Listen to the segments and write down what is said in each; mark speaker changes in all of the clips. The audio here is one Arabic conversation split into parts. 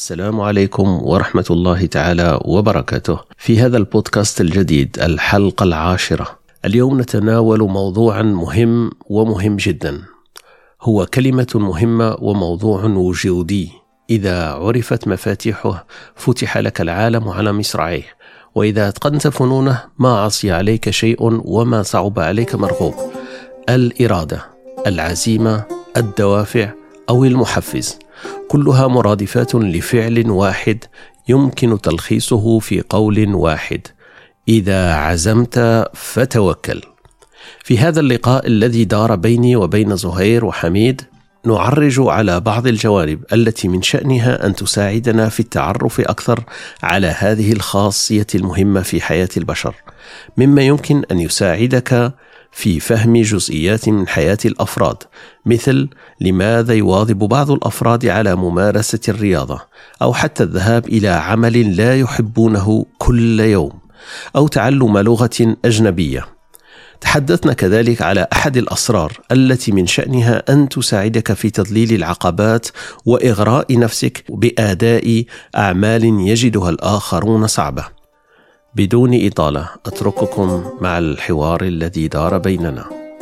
Speaker 1: السلام عليكم ورحمة الله تعالى وبركاته. في هذا البودكاست الجديد الحلقة 10 اليوم نتناول موضوعا مهم جدا، هو كلمة مهمة وموضوع وجودي. إذا عرفت مفاتيحه فتح لك العالم على مصراعيه، وإذا أتقنت فنونه ما عصي عليك شيء وما صعب عليك مرغوب. الإرادة، العزيمة، الدوافع أو المحفز، كلها مرادفات لفعل واحد يمكن تلخيصه في قول واحد: إذا عزمت فتوكل. في هذا اللقاء الذي دار بيني وبين زهير وحميد نعرج على بعض الجوانب التي من شأنها أن تساعدنا في التعرف أكثر على هذه الخاصية المهمة في حياة البشر، مما يمكن أن يساعدك في فهم جزئيات من حياة الأفراد، مثل لماذا يواظب بعض الأفراد على ممارسة الرياضة، أو حتى الذهاب إلى عمل لا يحبونه كل يوم، أو تعلم لغة أجنبية. تحدثنا كذلك على أحد الأسرار التي من شأنها أن تساعدك في تذليل العقبات وإغراء نفسك بأداء أعمال يجدها الآخرون صعبة. بدون إطالة أترككم مع الحوار الذي دار بيننا.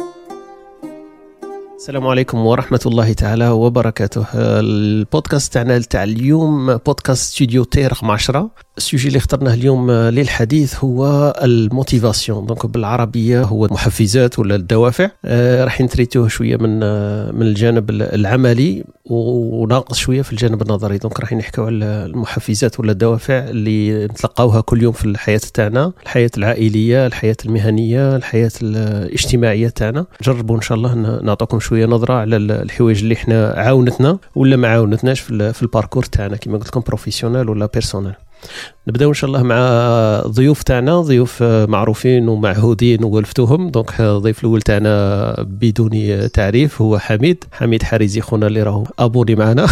Speaker 1: السلام عليكم ورحمة الله تعالى وبركاته. البودكاست تاع اليوم بودكاست ستوديو تي رقم 10. السوجي اللي اخترناه اليوم للحديث هو الموتيفاسيون، دونك بالعربية هو المحفزات ولا الدوافع. راح نتريتوه شوية من الجانب العملي وناقص شوية في الجانب النظري. دونك راح نحكي على المحفزات ولا الدوافع اللي نتلقاوها كل يوم في الحياة تاعنا، الحياة العائلية، الحياة المهنية، الحياة الاجتماعية تاعنا. جربوا إن شاء الله نعطيكم شوية نظرة على الحوايج اللي احنا عاونتنا ولا ما عاونتناش في الباركور تاعنا، كما قلت لكم بروفيسيونال ولا بيرسونال. نبداو ان شاء الله مع ضيوف تاعنا، ضيوف معروفين ومعهودين وولفتوهم. دونك الضيف الاول تاعنا بدون تعريف هو حميد حريزي، خونا اللي راهو ابوني معنا.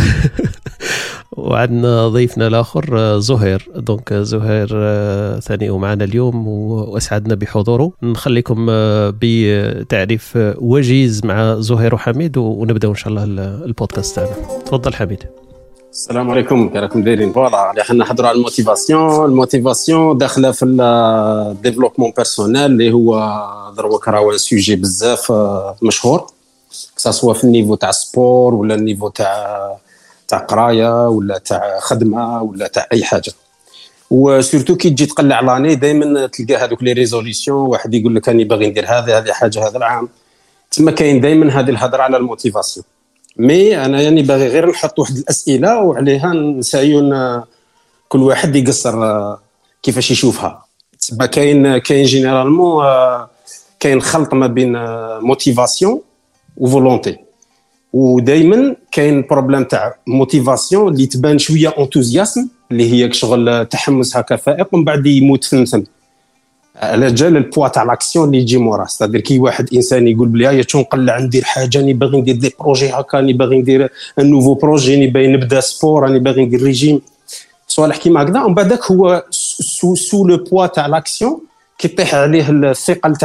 Speaker 1: وعندنا ضيفنا الاخر زهير. دونك زهير ثاني ومعنا اليوم واسعدنا بحضوره. نخليكم بتعريف وجيز مع زهير وحميد ونبداو ان شاء الله البودكاست تاعنا. تفضل حميد.
Speaker 2: السلام عليكم، كيراكم دايرين؟ فوالا حنا نحضروا على الموتيفاسيون داخله في الديفلوبمون بيرسونيل اللي هو دروك راهو سوجي بزاف مشهور، سواء في النيفو تاع سبور ولا النيفو تاع قرايه ولا تاع خدمه ولا تاع اي حاجه. وسورتو كي تجي تقلع لاني دائما تلقى هذوك لي ريزوليسيون، واحد يقول لك راني باغي ندير هذه حاجه هذا العام، تما كاين دائما هذه الهضره على الموتيفاسيون. مي انا يعني باغي غير نحط واحد الاسئله وعليها نسايون كل واحد يقصر كيفاش يشوفها. تما كاين جينيرالمون كاين خلط ما بين موتيفاسيون وفولونتي، ودائما كاين بروبليم تاع موتيفاسيون اللي تبان شويه انتوزياسم اللي هي شغل تحمس هكا فائق ومن بعد يموت في النسم على جال البوا تاع لاكسيون اللي يجي مورا. صدر كي واحد انسان يقول بلي هيا شنو نقلع ندير حاجه، راني باغي ندير دي بروجي هكا، راني باغي ندير ان نوفو بروجي، راني باغي نبدا سبور، راني باغي ندير ريجيم، صوالح كيما هكذا. ومن بعدك هو سو لو بوا تاع لاكسيون كي يطيح عليه الثقل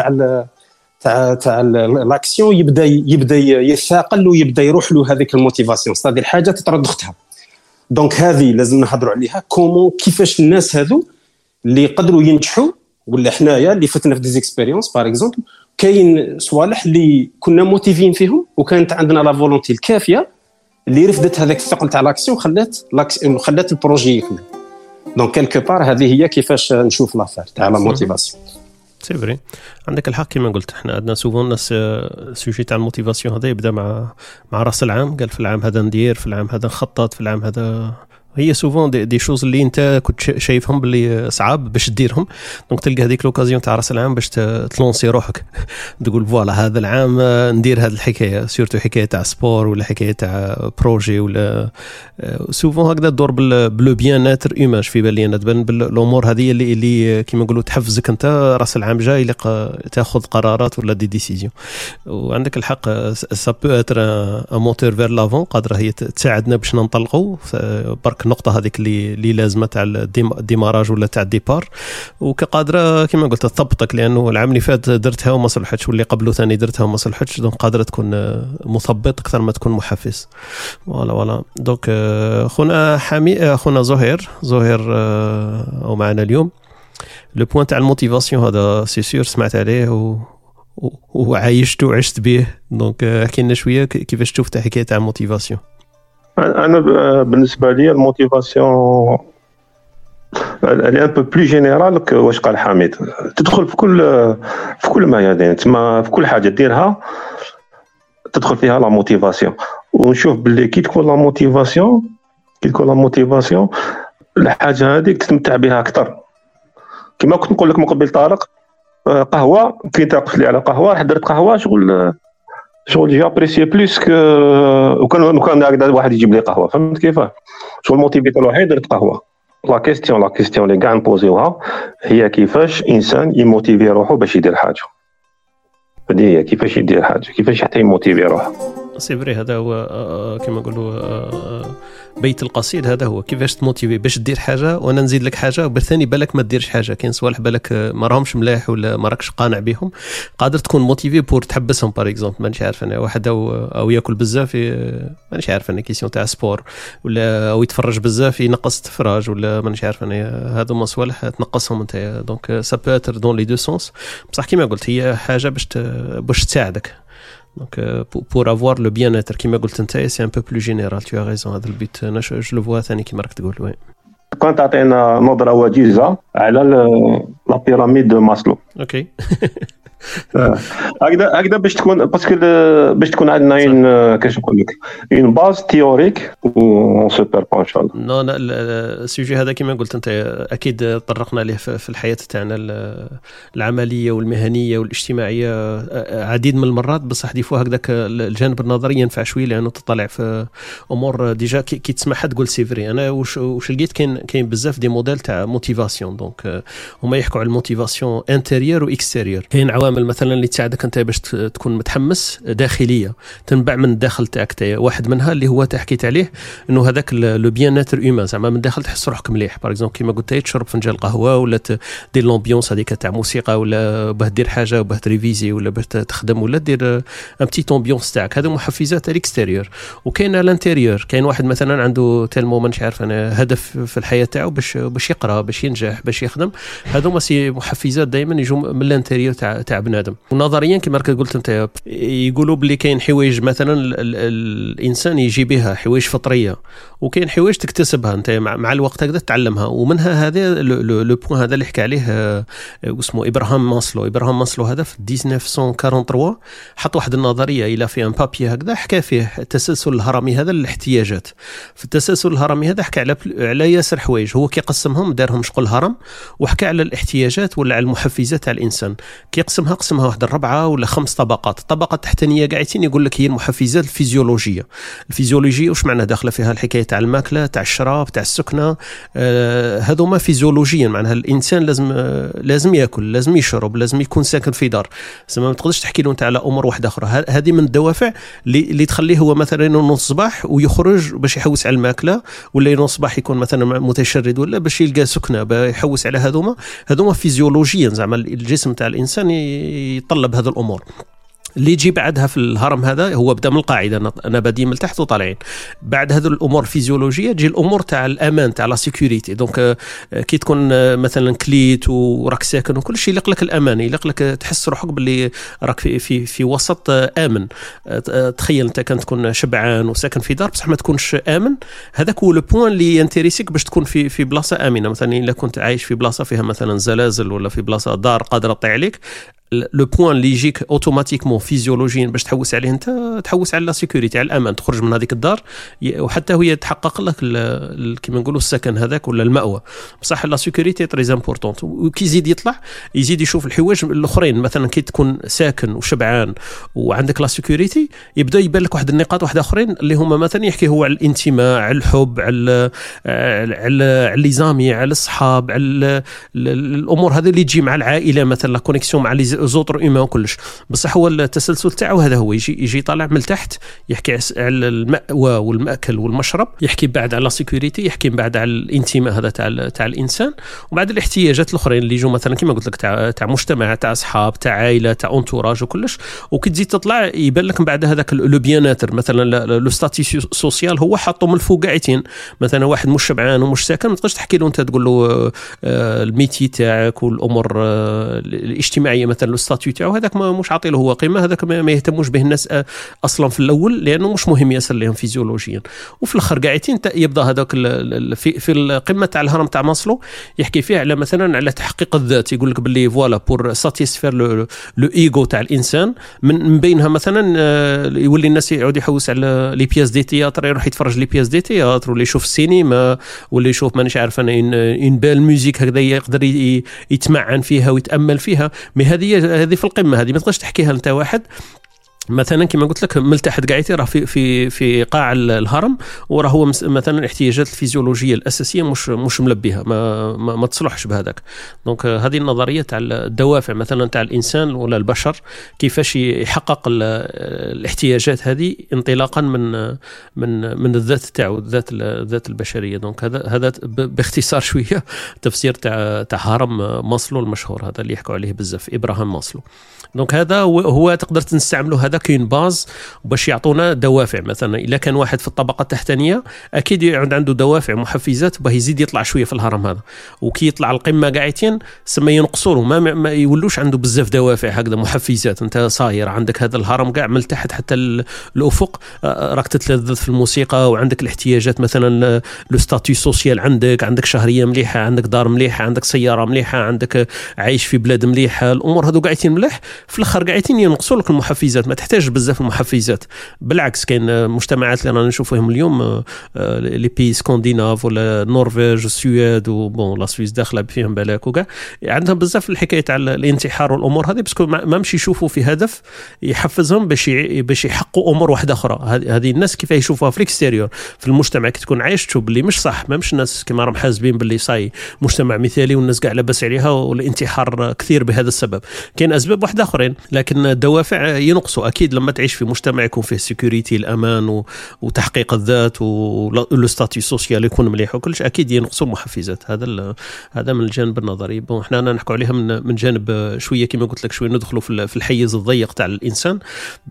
Speaker 2: تاع لاكسيون يبدا يثاقل ويبدا يروح له هذيك الموتيفاسيون، صدر حاجه تطرد اختها. دونك هذه لازم نهضروا عليها، كومون كيفاش الناس هذو اللي يقدروا ينجحوا ولا حنايا اللي فتنا في ديزيكسبيريونس باغ اكزومبل، كاين صوالح اللي كنا موتيفين فيهم وكانت عندنا لا فولونتي الكافيه اللي رفدت هذاك الثقل تاع لاكسيون خلات البروجي يكمل. دونك كالكو بار هذه هي كيفاش نشوف لافير تاع لا موتيفاسيون.
Speaker 1: سي فري، عندك الحق كما قلت. احنا عندنا سوفون الناس السوجي تاع الموتيفاسيون هذا يبدا مع راس العام، قال في العام هذا ندير، في العام هذا نخطط، في العام هذا هي سوفون دي شوز اللي انت كنت شايفهم باللي صعاب باش ديرهم. دونك تلقى هذيك لوكازيون تاع راس العام باش تلونسي روحك، تقول فوالا هذا العام ندير هذه الحكايه، سورتو حكايه تاع سبور ولا حكايه تاع بروجي ولا سوفون هكذا تدور بلو بيان ناتر ايماج في بالي انا، تبان بالامور هذه اللي كيما نقولوا تحفزك انت راس العام جاي تاخذ قرارات ولا دي ديسيزيون. وعندك الحق سا بو اتر ان موتور فير لافون، قادره هي تساعدنا باش ننطلقوا برك النقطه هذيك اللي لازمه تاع الديماراج ولا تاع الديبار، وكقادره كما قلت تضبطك، لانه العام اللي فات درتها وما صلحتش، واللي قبله ثاني درتها وما صلحتش، دونك قادره تكون مثبط اكثر ما تكون محفز. فوالا دونك خونا حامي، خونا زهير او معنا اليوم لو بوين تاع الموتيفاسيون هذا سي سور سمعت عليه وعايشته وعشت به، دونك احكي لنا شويه كيفاش تشوف تاع حكايه تاع الموتيفاسيون.
Speaker 3: انا بالنسبه لي الموتيفاسيون اللي ان بو بلو جينيرال واش قال حميد، تدخل في كل ميادين، تما في كل حاجه ديرها تدخل فيها لا موتيفاسيون. ونشوف باللي كي تكون لا موتيفاسيون الحاجه هذيك تستمتع بها اكثر. كما كنت نقول لك من قبل طارق، قهوه كي تقف لي على قهوه، راح درت قهوه شغل جي ابريسي بلوس وكان هكذا واحد يجيب لي قهوه، فهمت كيفاه؟ شغل الموتيفيت الوحيد درت قهوه. لا كيستيون اللي كاع نبوزيوها هي كيفاش انسان يموتيفي روحه باش يدير حاجه. هذه هي كيفاش يدير حاجه، كيفاش حتى يموتيفي روحه.
Speaker 1: سي فري، هذا هو كما نقولوا بيت القصيد، هذا هو كيفاش تموتيفي باش دير حاجه. وانا نزيد لك حاجه، بالثاني بالك ما ديرش حاجه، كاين صوالح بالك ما راهمش ملاح ولا ما راكش قانع بهم، قادر تكون موتيفي بور تحبسهم. باغ اكزومبل مانيش عارف انا واحد او ياكل بزاف، مانيش عارف انا كيسيون تاع سبور، ولا او يتفرج بزاف ينقص التفراج، ولا مانيش عارف انا هذو ما صوالح تنقصهم انت. دونك سا بو اتر دون لي دو سونس، بصح كيما قلت هي حاجه باش تساعدك. Donc pour avoir le bien-être كما قلت انت c'est un peu plus général, tu as raison. هذا البيت انا جو لو فوا ثاني كما راك تقول. وي
Speaker 3: كنت تعطينا نظره وجيزه على لا بيراميد دو ماسلو.
Speaker 1: اوكي
Speaker 3: هكذا باش تكون باسكو باش تكون عندنا كاش نقول لك اون باز تيوريك و سوبر با ان شاء الله.
Speaker 1: نو لا السوجي هذا كما قلت انت اكيد طرقنا ليه في الحياه تاعنا العمليه والمهنيه والاجتماعيه عديد من المرات، بصح دي فوا هكذاك الجانب النظري ينفع شويه، لانه تطلع في امور ديجا كي تسمعها تقول سي فري. انا واش لقيت كاين بزاف دي موديل تاع موتيفاسيون، دونك هما يحكوا على الموتيفاسيون انتيريور واكستيريور. كاين عوامل مثلا اللي تساعدك انت باش تكون متحمس داخليه تنبع من الداخل تاعك، واحد منها اللي هو تحكيت عليه انه هذاك لو بيان ناتر هيومان، زعما من الداخل تحس روحك مليح. باغ اكزومبل كيما قلت تشرب فنجان قهوه، ولا دير لومبيونس هذيك تاع موسيقى، ولا باه دير حاجه وباه تريفيزي، ولا باه تخدم، ولا دير ان بتي امبيونس تاعك. هذا محفزات الاكستيريور. وكاين الانتيريور، كاين واحد مثلا عنده تالمو مانيش عارف انا هدف في الحياه تاعو باش يقرا، باش ينجح، باش يخدم. هذو ما سي محفزات دائما يجوا من الانتيريور تاع بنادم. ونظريا كما قلت انت يقولوا بلي كاين حوايج مثلا الانسان يجي بها، حوايج فطريه، وكاين حوايج تكتسبها انت مع الوقت هكذا تتعلمها. ومنها هذا لو بوين هذا اللي حكى عليه اسمه ابراهام ماسلو هذا في 1943 حط واحد النظريه الى في ان بابي هكذا، حكى فيه التسلسل الهرمي هذا للاحتياجات. في التسلسل الهرمي هذا حكى على ياسر حوايج، هو كيقسمهم دارهم شغل هرم، وحكى على الاحتياجات ولا على المحفزات تاع الانسان. كيقسمها واحد 4 ولا 5 طبقات. الطبقه التحتانيه قاعدين يقول لك هي المحفزات الفيزيولوجيه. واش معنى داخله فيها الحكايه تاع الماكله، تاع الشراب، تاع السكنه، هذوما فيزيولوجيا. معناها الانسان لازم ياكل، لازم يشرب، لازم يكون ساكن في دار. ما تقدرش تحكي له انت على امور واحده اخرى. هذه من الدوافع اللي تخليه هو مثلا ينوض الصباح ويخرج باش يحوس على الماكله، ولا ينوض الصباح يكون مثلا متشرد، ولا باش يلقى سكنه يحوس على هذوما فيزيولوجيا. زعما الجسم تاع الانسان يطلب هذه الامور. اللي يجي بعدها في الهرم هذا هو بدا من القاعده، انا بادي من تحت وطالعين. بعد هذه الامور الفيزيولوجيه تجي الامور تاع الامان، تاع لا سيكوريتي. دونك كي تكون مثلا كليت وراك ساكن وكل شيء يلق لك الامان، يلق لك تحس روحك باللي راك في وسط امن. تخيل انت كان تكون شبعان وساكن في دار بصح ما تكونش امن، هذاك هو لو بوين اللي ينتريسيك باش تكون في بلاصه امنه. مثلا الا كنت عايش في بلاصه فيها مثلا زلازل، ولا في بلاصه دار قادره تطيح عليك، لو بوين اللي يجيك اوتوماتيكمون فيزيولوجيا باش تحوس عليه انت، تحوس على لا سيكوريتي، على الامان، تخرج من هذيك الدار وحتى هي تحقق لك كيما نقولوا السكن هذاك ولا المأوى. بصح لا سيكوريتي تري امبورطونت. وكي يزيد يطلع يزيد يشوف الحوايج الاخرين. مثلا كي تكون ساكن وشبعان وعندك لا سيكوريتي، يبدا يبان لك واحد النقاط واحده اخرين اللي هما مثلا يحكي هو على الانتماء، على الحب، على لي زامي، على الصحاب، على الامور هذه اللي تجي مع العائله، مثلا لا كونيكسيون مع زوتر ايمان وكلش، بصح هو التسلسل تاعو هذا هو يجي طالع من تحت، يحكي على المأوى والمأكل والمشرب، يحكي بعد على سيكوريتي، يحكي بعد على الانتماء هذا تاع الانسان، وبعد الاحتياجات الاخرين اللي يجوا مثلا كما قلت لك تاع مجتمع، تاع اصحاب، تاع عائله، تاع انتوراج وكلش. وكي تزيد تطلع يبان لك من بعد هذاك لو بياناتر مثلا لو ستاتي سوسيال هو حاطه من الفوق قاعدين. مثلا واحد مش شبعان ومش ساكن ما تقدرش تحكي له انت تقول له الميتي تاعك والامور الاجتماعيه مثلا الستاتيو تاعو هذاك مش عاطي له هو قيمه، هذاك ما يهتموش به الناس اصلا في الاول لانه مش مهم يصل لهم فيزيولوجيا. وفي الاخر قاعدين يبدا هذاك في القمه تاع الهرم تاع ماسلو يحكي فيه على مثلا على تحقيق الذات، يقول لك باللي فوالا بور ساتيسفير لو ايغو تاع الانسان، من بينها مثلا يولي الناس يعود يحوس على لي بياس دي تياتر، يروح يتفرج لي بياس دي تياتر ولا يشوف السينما ولا يشوف مانيش عارف انا ان بال ميوزيك هكذا يقدر يتمعن فيها ويتامل فيها. مي هذه في القمه، هذه ما تقدرش تحكيها انت واحد مثلا كما قلت لك ملتحد قاعد راه في قاع الهرم، وراه هو مثلا الاحتياجات الفيزيولوجيه الاساسيه مش ملبيها، ما تصلحش بهذاك. دونك هذه النظريه تاع الدوافع مثلا تاع الانسان ولا البشر كيفاش يحقق الاحتياجات هذه انطلاقا من الذات تاعو، الذات البشريه. دونك هذا باختصار شويه تفسير تاع هرم ماسلو المشهور هذا اللي يحكوا عليه بزاف، ابراهام ماسلو. دونك هذا هو تقدر تستعمله، هذا كاين باز باش يعطونا دوافع. مثلا الا كان واحد في الطبقه التحتانيه اكيد عنده دوافع محفزات باه يزيد يطلع شويه في الهرم هذا، وكي يطلع القمه قاعدين سما ينقصوا له، ما يولوش عنده بزاف دوافع هكذا محفزات. انت صاير عندك هذا الهرم كاع من تحت حتى الافق، راك تتلذذ في الموسيقى وعندك الاحتياجات مثلا لو ستاتيو سوسيال، عندك شهريه مليحه، عندك دار مليحه، عندك سياره مليحه، عندك عايش في بلاد مليحه، الامور هذو قاعدين مليح. في الاخر قاعدين ينقصوا لك المحفزات، ما تحتاج بزاف المحفزات. بالعكس كاين مجتمعات اللي رانا نشوفهم اليوم لي بي سكانديناف ولا النرويج والسويد وبون لا سويس داخله فيهم بالك وكاع، عندهم بزاف الحكايه تاع الانتحار والامور هذه، باسكو ما مشي يشوفوا في هدف يحفزهم باش يحققوا امور واحده اخرى. هذه الناس كيف يشوفوها في الاكستيريور في المجتمع، كي تكون عايش تشوف باللي مش صح، ما مش الناس كما راهم حاسبين باللي صاي مجتمع مثالي والناس كاع لاباس عليها والانتحار كثير بهذا السبب. كاين اسباب واحده اخرين، لكن الدوافع ينقصوا اكيد لما تعيش في مجتمع يكون فيه سيكوريتي، الامان وتحقيق الذات ولو ستاتيو سوسيال يكون مليح وكلش، اكيد ينقصوا المحفزات. هذا من الجانب النظري. بون احنا نحكوا عليها من جانب شويه كما قلت لك، شويه ندخلوا في الحيز الضيق تاع الانسان،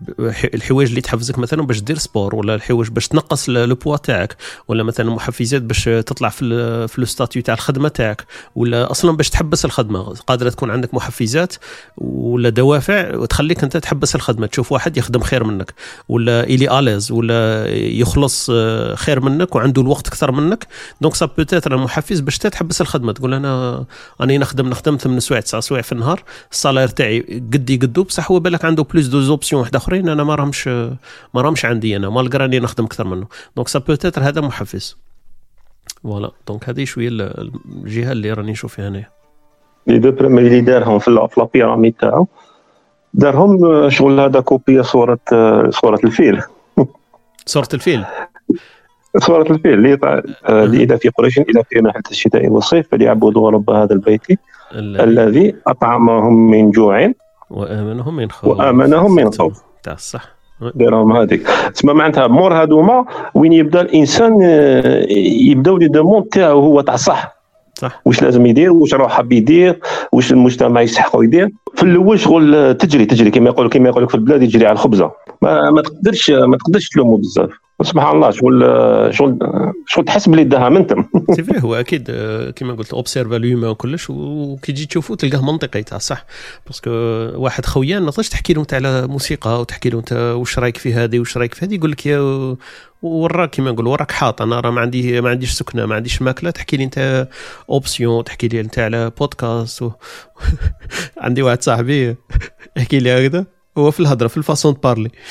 Speaker 1: الحوايج اللي تحفزك مثلا باش دير سبور، ولا الحوايج باش تنقص لو بوا تاعك، ولا مثلا محفزات باش تطلع في لو ستاتيو تاع الخدمه تاعك، ولا اصلا باش تحبس الخدمه. قادره تكون عندك محفزات ولا دوافع وتخليك انت تحبس الخدمه، تشوف واحد يخدم خير منك ولا إلي آليز ولا يخلص خير منك وعنده الوقت اكثر منك. دونك سا بوتيتر محفز باش تحبس الخدمه، تقول انا نخدم 8 سوايع 9 سوايع في النهار، الصالير تاعي قدو بصح هو بالك عنده بلوس دو زوبسيون واحد اخرين انا ما راهمش عندي، انا مالغرا اني نخدم اكثر منه. دونك سا بوتيتر هذا محفز. فوالا دونك هذه شويه الجهه اللي راني نشوف فيها هنايا.
Speaker 3: لي دو بريمي اللي دارهم في لا بيراميد تاعو، دارهم شغل هذا كوبيا صورة الفيل.
Speaker 1: صورة الفيل
Speaker 3: اللي إذا في قريش إذا في ناحية الشتاء والصيف فليعبدوا رب هذا البيت الذي أطعمهم من جوع وآمنهم من خوف.
Speaker 1: تاع الصح
Speaker 3: دارهم هذيك تسمى معناتها مور هذوما وين يبدا الإنسان يبداو لي دوموند تاعو هو تاع صح، واش لازم يدير، واش راه حاب يدير، واش المجتمع يستحقوا يدير. في الاول شغل تجري كما يقول لك في البلاد يجري على الخبزه، ما تقدرش تلومه بزاف. سبحان الله شغل تحس بلي داها منتم.
Speaker 1: سي فري هو اكيد كما قلت اوبسيرفا لوما وكلش، وكي تجي تشوفه تلقاه منطقي تاع صح. باسكو واحد خويا ما تقدرش تحكي له انت على موسيقى وتحكي له انت واش رايك في هذه واش رايك في هذه، يقول لك يا وراك كيما نقول وراك حاط، انا راه ما عنديش سكنه، ما عنديش ماكله، تحكي لي انت اوبسيون، تحكي لي انت على بودكاست عندي واحد صاحبي يحكي لي هكذا، هو في الهضره في الفاسون بارلي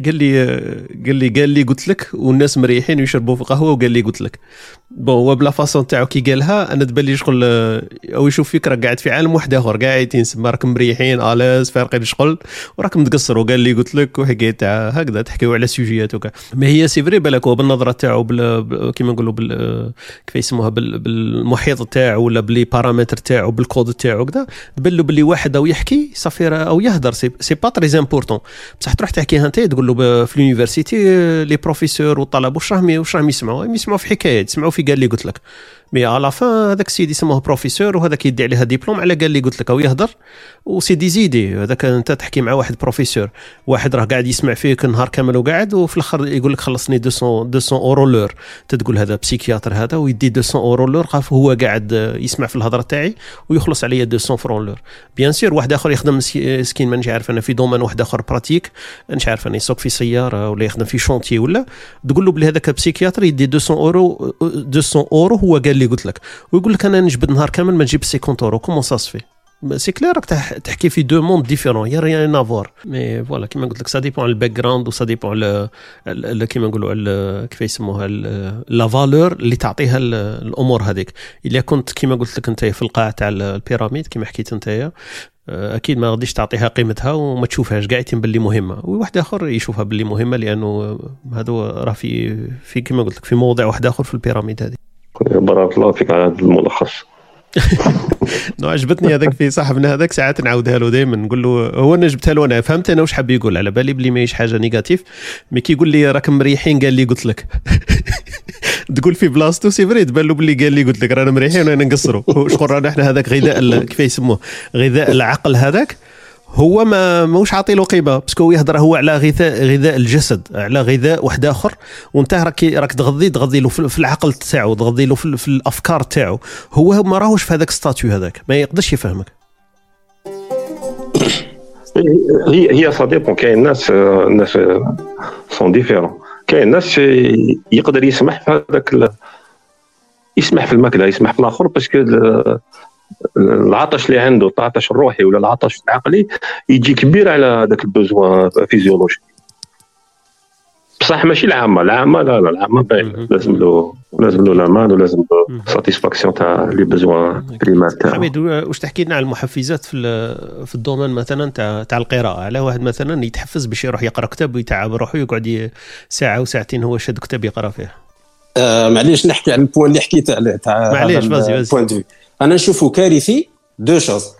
Speaker 1: قال لي قلت لك والناس مريحين ويشربوا في قهوه وقال لي قلت لك بون هو بلا فاصون تاعو كي قالها انا تبان لي شغل او يشوف فيك راك قاعد في عالم واحد اخر قاعدين تسمى راكم مريحين الاز فارقين شغل وراكم تقصروا قال لي قلت لك وحكايه تاع هكذا تحكيوا على سوجيات وكا ما هي سي فري بالك هو بالنظره تاعو كيما نقولوا كيف يسموها بالمحيط تاعو ولا بلي بارامتر تاعو بالكود تاعو كذا تبان له باللي واحد او يحكي صافي او يهدر سي با تري امبورطون بصح تروح تحكيها انت تقول له في اليونيفرسيتي لي بروفيسور والطلبه واش راهم يسمعوا في حكايات يسمعوا في قال لي قلت لك مي على فان هذاك السيد يسموه بروفيسور وهذاك يدي عليها ديبلوم على قال لي قلت لك او يهدر وسي دي زيدي هذاك انت تحكي مع واحد بروفيسور واحد راه قاعد يسمع فيك نهار كامل وقاعد وفي الاخر يقول لك خلصني 200 اورو لور تقول هذا بسيكياتر هذا ويدي 200 اورو لور خاف هو قاعد يسمع في الهضره تاعي ويخلص عليا 200 فرون لور بيان سير واحد اخر يخدم سكين ما نش عارف انا في دومين واحد اخر براتيك نش عارف انا يسوق في سياره ولا يخدم في شونتي ولا تقول له بلي هذاك بسيكياتر يدي 200 اورو هو قال لي قلت لك ويقول لك انا نجبد نهار كامل ما نجيب 50 اورو كومون سا سفي سي كلير راك تحكي في دو موند ديفيرون يا ريان افوار مي فوالا كيما قلت لك سا ديبون على الباك جراوند وسا ديبون على كيما نقولوا كيف يسموها لا فالور اللي تعطيها الامور هذيك الا كنت كيما قلت لك انت في القاع تاع البيراميد كيما حكيت انت اكيد ما غاديش تعطيها قيمتها وما تشوفهاش قاعد باللي مهمه وواحد اخر يشوفها باللي مهمه لانه هذا راه في كيما قلت لك في موضع واحد اخر في البيراميد هذه.
Speaker 3: بارك الله فيك على هذا الملخص.
Speaker 1: نو عجبتني هذاك في صاحبنا هذاك ساعات نعاودها له دائما نقول له هو انا جبتها له انا فهمت انا واش حاب يقول على بالي بلي ماهيش حاجه نيجاتيف مي كي يقول لي راكم مريحين قال لي قلت لك تقول في بلاصتو سي فري تبان له بلي قال لي قلت لك رانا مريحين وانا نقصروا شكون رانا احنا هذاك غذاء كيف يسموه غذاء العقل هذاك هو موش عاطي له قيمه باسكو يهضر هو على غذاء الجسد على غذاء واحد اخر وانت راك تغذي له في العقل تاعو تغذي له في الافكار تاعو هو ما راهوش في هذاك ستاتيو هذاك ما يقدرش يفهمك.
Speaker 3: هي صديق كاين ناس سون ديفيرون كاين ناس يقدر يسمح في هذاك يسمح في الماكله يسمح في الاخر باسكو العطش اللي عنده العطش الروحي ولا العطش العقلي يجي كبير على داك البوزوا فيزيولوجي بصح ماشي العامه لا العامه لازم له الامان ولازم له ساتيسفاكسيون تاع لي بوزوا بريمات تاعو.
Speaker 1: حميد واش تحكي لنا على المحفزات في الدومين مثلا تاع القراءه على واحد مثلا يتحفز باش يروح يقرا كتاب ويتعب روحه يقعد ساعه وساعتين هو شاد كتاب يقرا فيه.
Speaker 2: معليش نحكي على البوان اللي حكيت عليه تاع
Speaker 1: معليش بازي
Speaker 2: انا نشوفه كارثي دو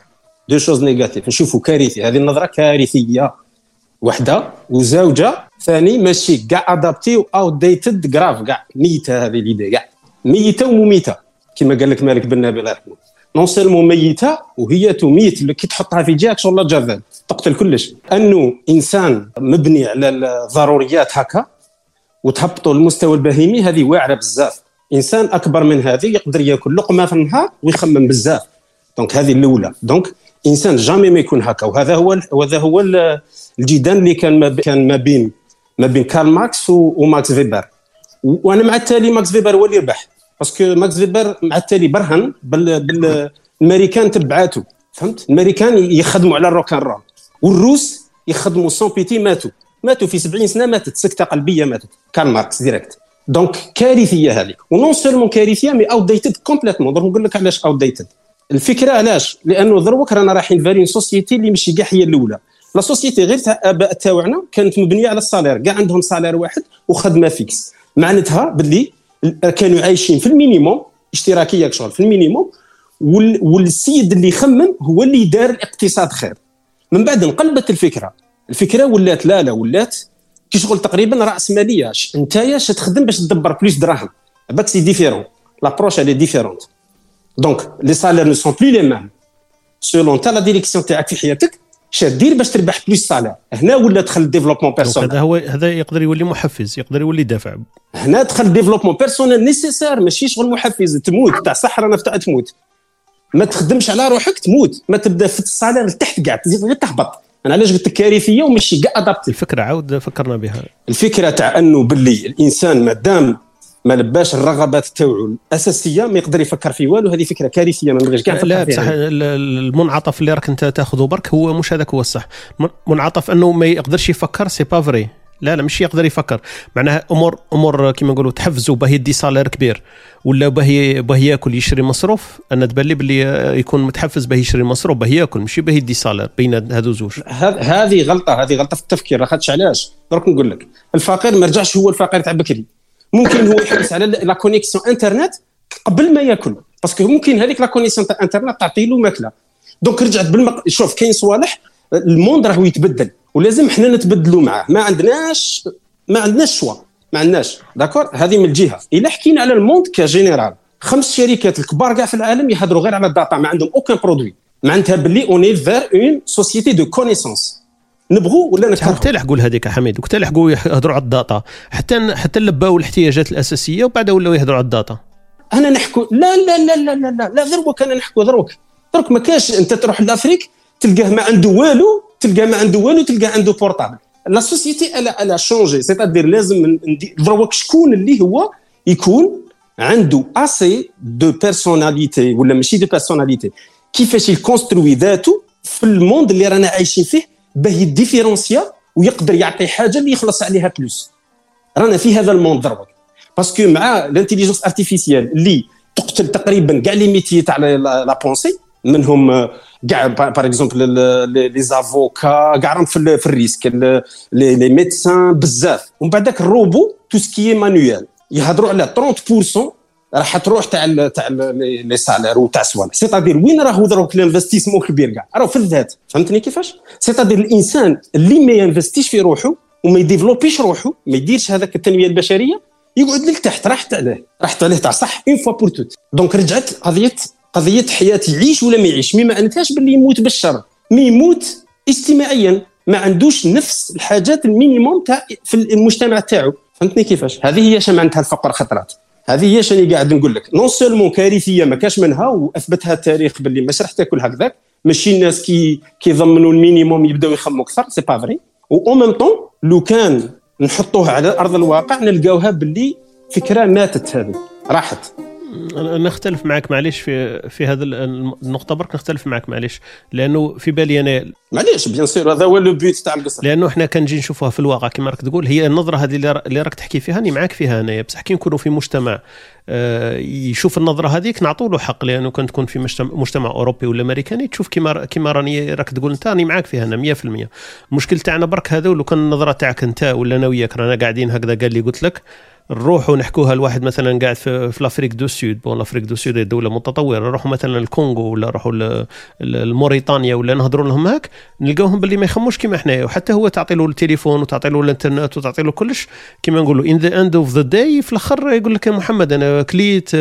Speaker 2: شوز نيجاتيف نشوفه كارثي هذه النظره كارثيه وحده وزوجه ثاني ماشي كاع ادابتي او ديتد جراف كاع ميته هذه ليدي كاع ميته ومميته كما قال لك مالك بن نبيل الله يرحمه نون سيلمون ميته وهي تميت كي تحطها في جهك شغل جافال تقتل كلش انه انسان مبني على الضروريات هكا وتهبطوا المستوى البهيمي هذه واعره بزاف. انسان اكبر من هذه يقدر ياكل لقمه في النهار ويخمم بزاف دونك هذه الاولى دونك انسان جامي ما يكون هكا وهذا هو الجدال اللي كان ما بين كارل ماركس وماكس فيبر وانا مع التالي ماكس فيبر هو اللي ربح باسكو ماكس فيبر مع التالي برهن بالامريكان تبعاته فهمت الامريكان يخدموا على الروكان رول والروس يخدموا سون بيتي ماتوا في 70 سنه ماتت سكته قلبيه ماتت كارل ماركس ديريكت دونك كارثيه هذه ونون سولمون كارثيه مي اوت ديتد كومبليتمون دونك نقول لك علاش اوت ديتد الفكره علاش لانه دروك رانا رايحين فالين سوسيتي اللي ماشي كاع هي الاولى لا سوسيتي غير تاع اباء تاعنا كانت مبنيه على الصالير كاع عندهم صالير واحد وخدمه فيكس معناتها باللي كانوا عايشين في المينيموم اشتراكيه شغل في المينيموم والسيد اللي يخمم هو اللي دار الاقتصاد خير من بعد انقلبت الفكره ولات كي شغل تقريبا راس ماليه نتايا تخدم باش تدبر بلوس دراهم باك سي ديفيرون لابروش elle est différente donc les salaires ne sont plus les mêmes selon ta la direction تاعك في حياتك شادير باش تربح بلوس صالير هنا ولا دخل ديفلوبمون بيرسونيل
Speaker 1: هذا يقدر يولي محفز يقدر يولي دافع
Speaker 2: هنا دخل ديفلوبمون بيرسونيل نيسيسير ماشي شغل محفز تموت تاع صحراء نفتح تموت ما تخدمش على روحك تموت ما تبدا في الصالير لتحت كاع تزيد غير تهبط انا علاش قلت كارثيه وماشي كاع ادابتي
Speaker 1: الفكره عاود فكرنا بها
Speaker 2: الفكره تاع انه باللي الانسان مادام ما لباش الرغبات تاعو الاساسيه ما يقدر يفكر في والو هذه فكره كارثيه ما نبغيش كاع
Speaker 1: لا بصح المنعطف اللي راك انت تاخذه برك هو مش هذاك هو الصح منعطف انه ما يقدرش يفكر سي با فري لا مش يقدر يفكر، معناها امور كيما نقولوا تحفزوا به يدي صالير كبير ولا به ياكل يشري مصروف. انا تبان لي باللي يكون متحفز به يشري مصروف به ياكل ماشي به يدي صالير بين هذو زوج.
Speaker 2: هذه غلطه في التفكير. لاخاطش علاش درك نقول لك الفقير ما رجعش هو الفقير تاع بكري، ممكن هو يحرص على لا كونيكسيون انترنت قبل ما ياكل، باسكو ممكن هذيك لا كونيكسيون تاع انترنت تعطي له ماكله. دونك رجعت شوف كاين صوالح الموند راهو يتبدل ولازم احنا نتبدلوا معاه، ما عندناش شوا، ما عندناش داكور. هذه من الجهه. الا حكينا على الموند كجينيرال 5 شركات الكبار كاع في العالم يهضروا غير على الداتا، ما عندهم اوكان برودوي، معناتها باللي اوني فير اون سوسيتي دو كونيسونس. نبغوا ولا نكرهوا
Speaker 1: حتى لحقوا هذيك حميد وقت لحقوا يهضروا على الداتا حتى لباو الاحتياجات الاساسيه وبعد ولاو يهضروا على الداتا.
Speaker 2: انا نحكوا لا لا لا لا لا لا, لا دروك انا نحكوا دروك ما كاش. انت تروح لافريك تلقاه ما عنده والو، تلقاه عنده بورطابل. لا سوسيتي الا شونجي، سيتادير لازم دروك شكون اللي هو يكون عنده اسي دو بيرسوناليتي ولا ماشي دو بيرسوناليتي، كيفاش يكونستروي ذاته في الموند اللي رانا عايشين فيه باه يديفيرونسيا ويقدر يعطي حاجه اللي يخلص عليها بلوس. رانا في هذا الموند دروك باسكو مع الانتيليجنس ارتيفيسيال اللي تقتل تقريبا كاع لي ميتي تاع لا بونسي، منهم كاع باغ اكزومبل لي زافوكا كاع راهم في الريسك، لي ميدسان بزاف. ومن بعد داك الروبو تو سكي مانويال يهضروا على 30% راح تروح تاع لي سالير وتاع صوالح. سيتادير وين راهو دروك الانفستيسمون كبير كاع راهو في الذات. فهمتني كيفاش؟ سيتادير الانسان اللي ما ينفستيش في روحه وما يديفلوبيش روحه، ما يديرش هذاك التنميه البشريه، يقعد لتحت. راحت عليه تاع صح اون فوا بور توت. دونك رجعت قضيه حياه يعيش ولا ما يعيش، ما معناتهاش باللي يموت بالشر، مي يموت اجتماعيا، ما عندوش نفس الحاجات المينيموم تاع في المجتمع تاعو. فهمتني كيفاش؟ هذه هي معناتها الفقر خطرات. هذه هي شنو قاعد نقول لك، نون سولمون كارثيه ما كاش منها واثبتها التاريخ باللي مش راح تاكل هكذاك. ماشي الناس كيضمنوا المينيموم يبداو يخموا اكثر، سي با فري. و ميم طون لو كان نحطوها على ارض الواقع نلقاوها باللي فكره ماتت، هذه راحت.
Speaker 1: أنا نختلف معك معليش في هذا النقطة، برك نختلف معك معليش، لأنه في بالي أنا
Speaker 2: معليش بيان سير هذا هو لو بيت تاع القصة،
Speaker 1: لأنه إحنا كنجي نشوفها في الواقع كما راك تقول. هي النظرة هذه اللي راك تحكي فيها أنا معك فيها أنا، بصح كي نكونوا في مجتمع يشوف النظرة هذيك نعطوا له حق، لأنه كنت تكون في مجتمع أوروبي ولا أمريكاني تشوف كما راني راك تقول أنت، أنا معك فيها أنا 100%. المشكل تاعنا برك هذا، ولو كان النظرة تاعك أنت ولا أنا وياك رانا قاعدين هكذا قال لي قلت لك نروحوا نحكوها الواحد مثلا قاعد في الافريك دو سود، الافريك دو سود دوله متطوره، نروحوا مثلا الكونغو ولا نروحوا الموريتانيا ولا نهضروا لهم هاك، نلقاوهم باللي ما يخموش كيما حنايا. وحتى هو تعطي له التليفون وتعطي له الانترنت وتعطي له كلش كيما نقولوا ان ذا اند اوف ذا داي، في الاخر يقول لك يا محمد انا كليت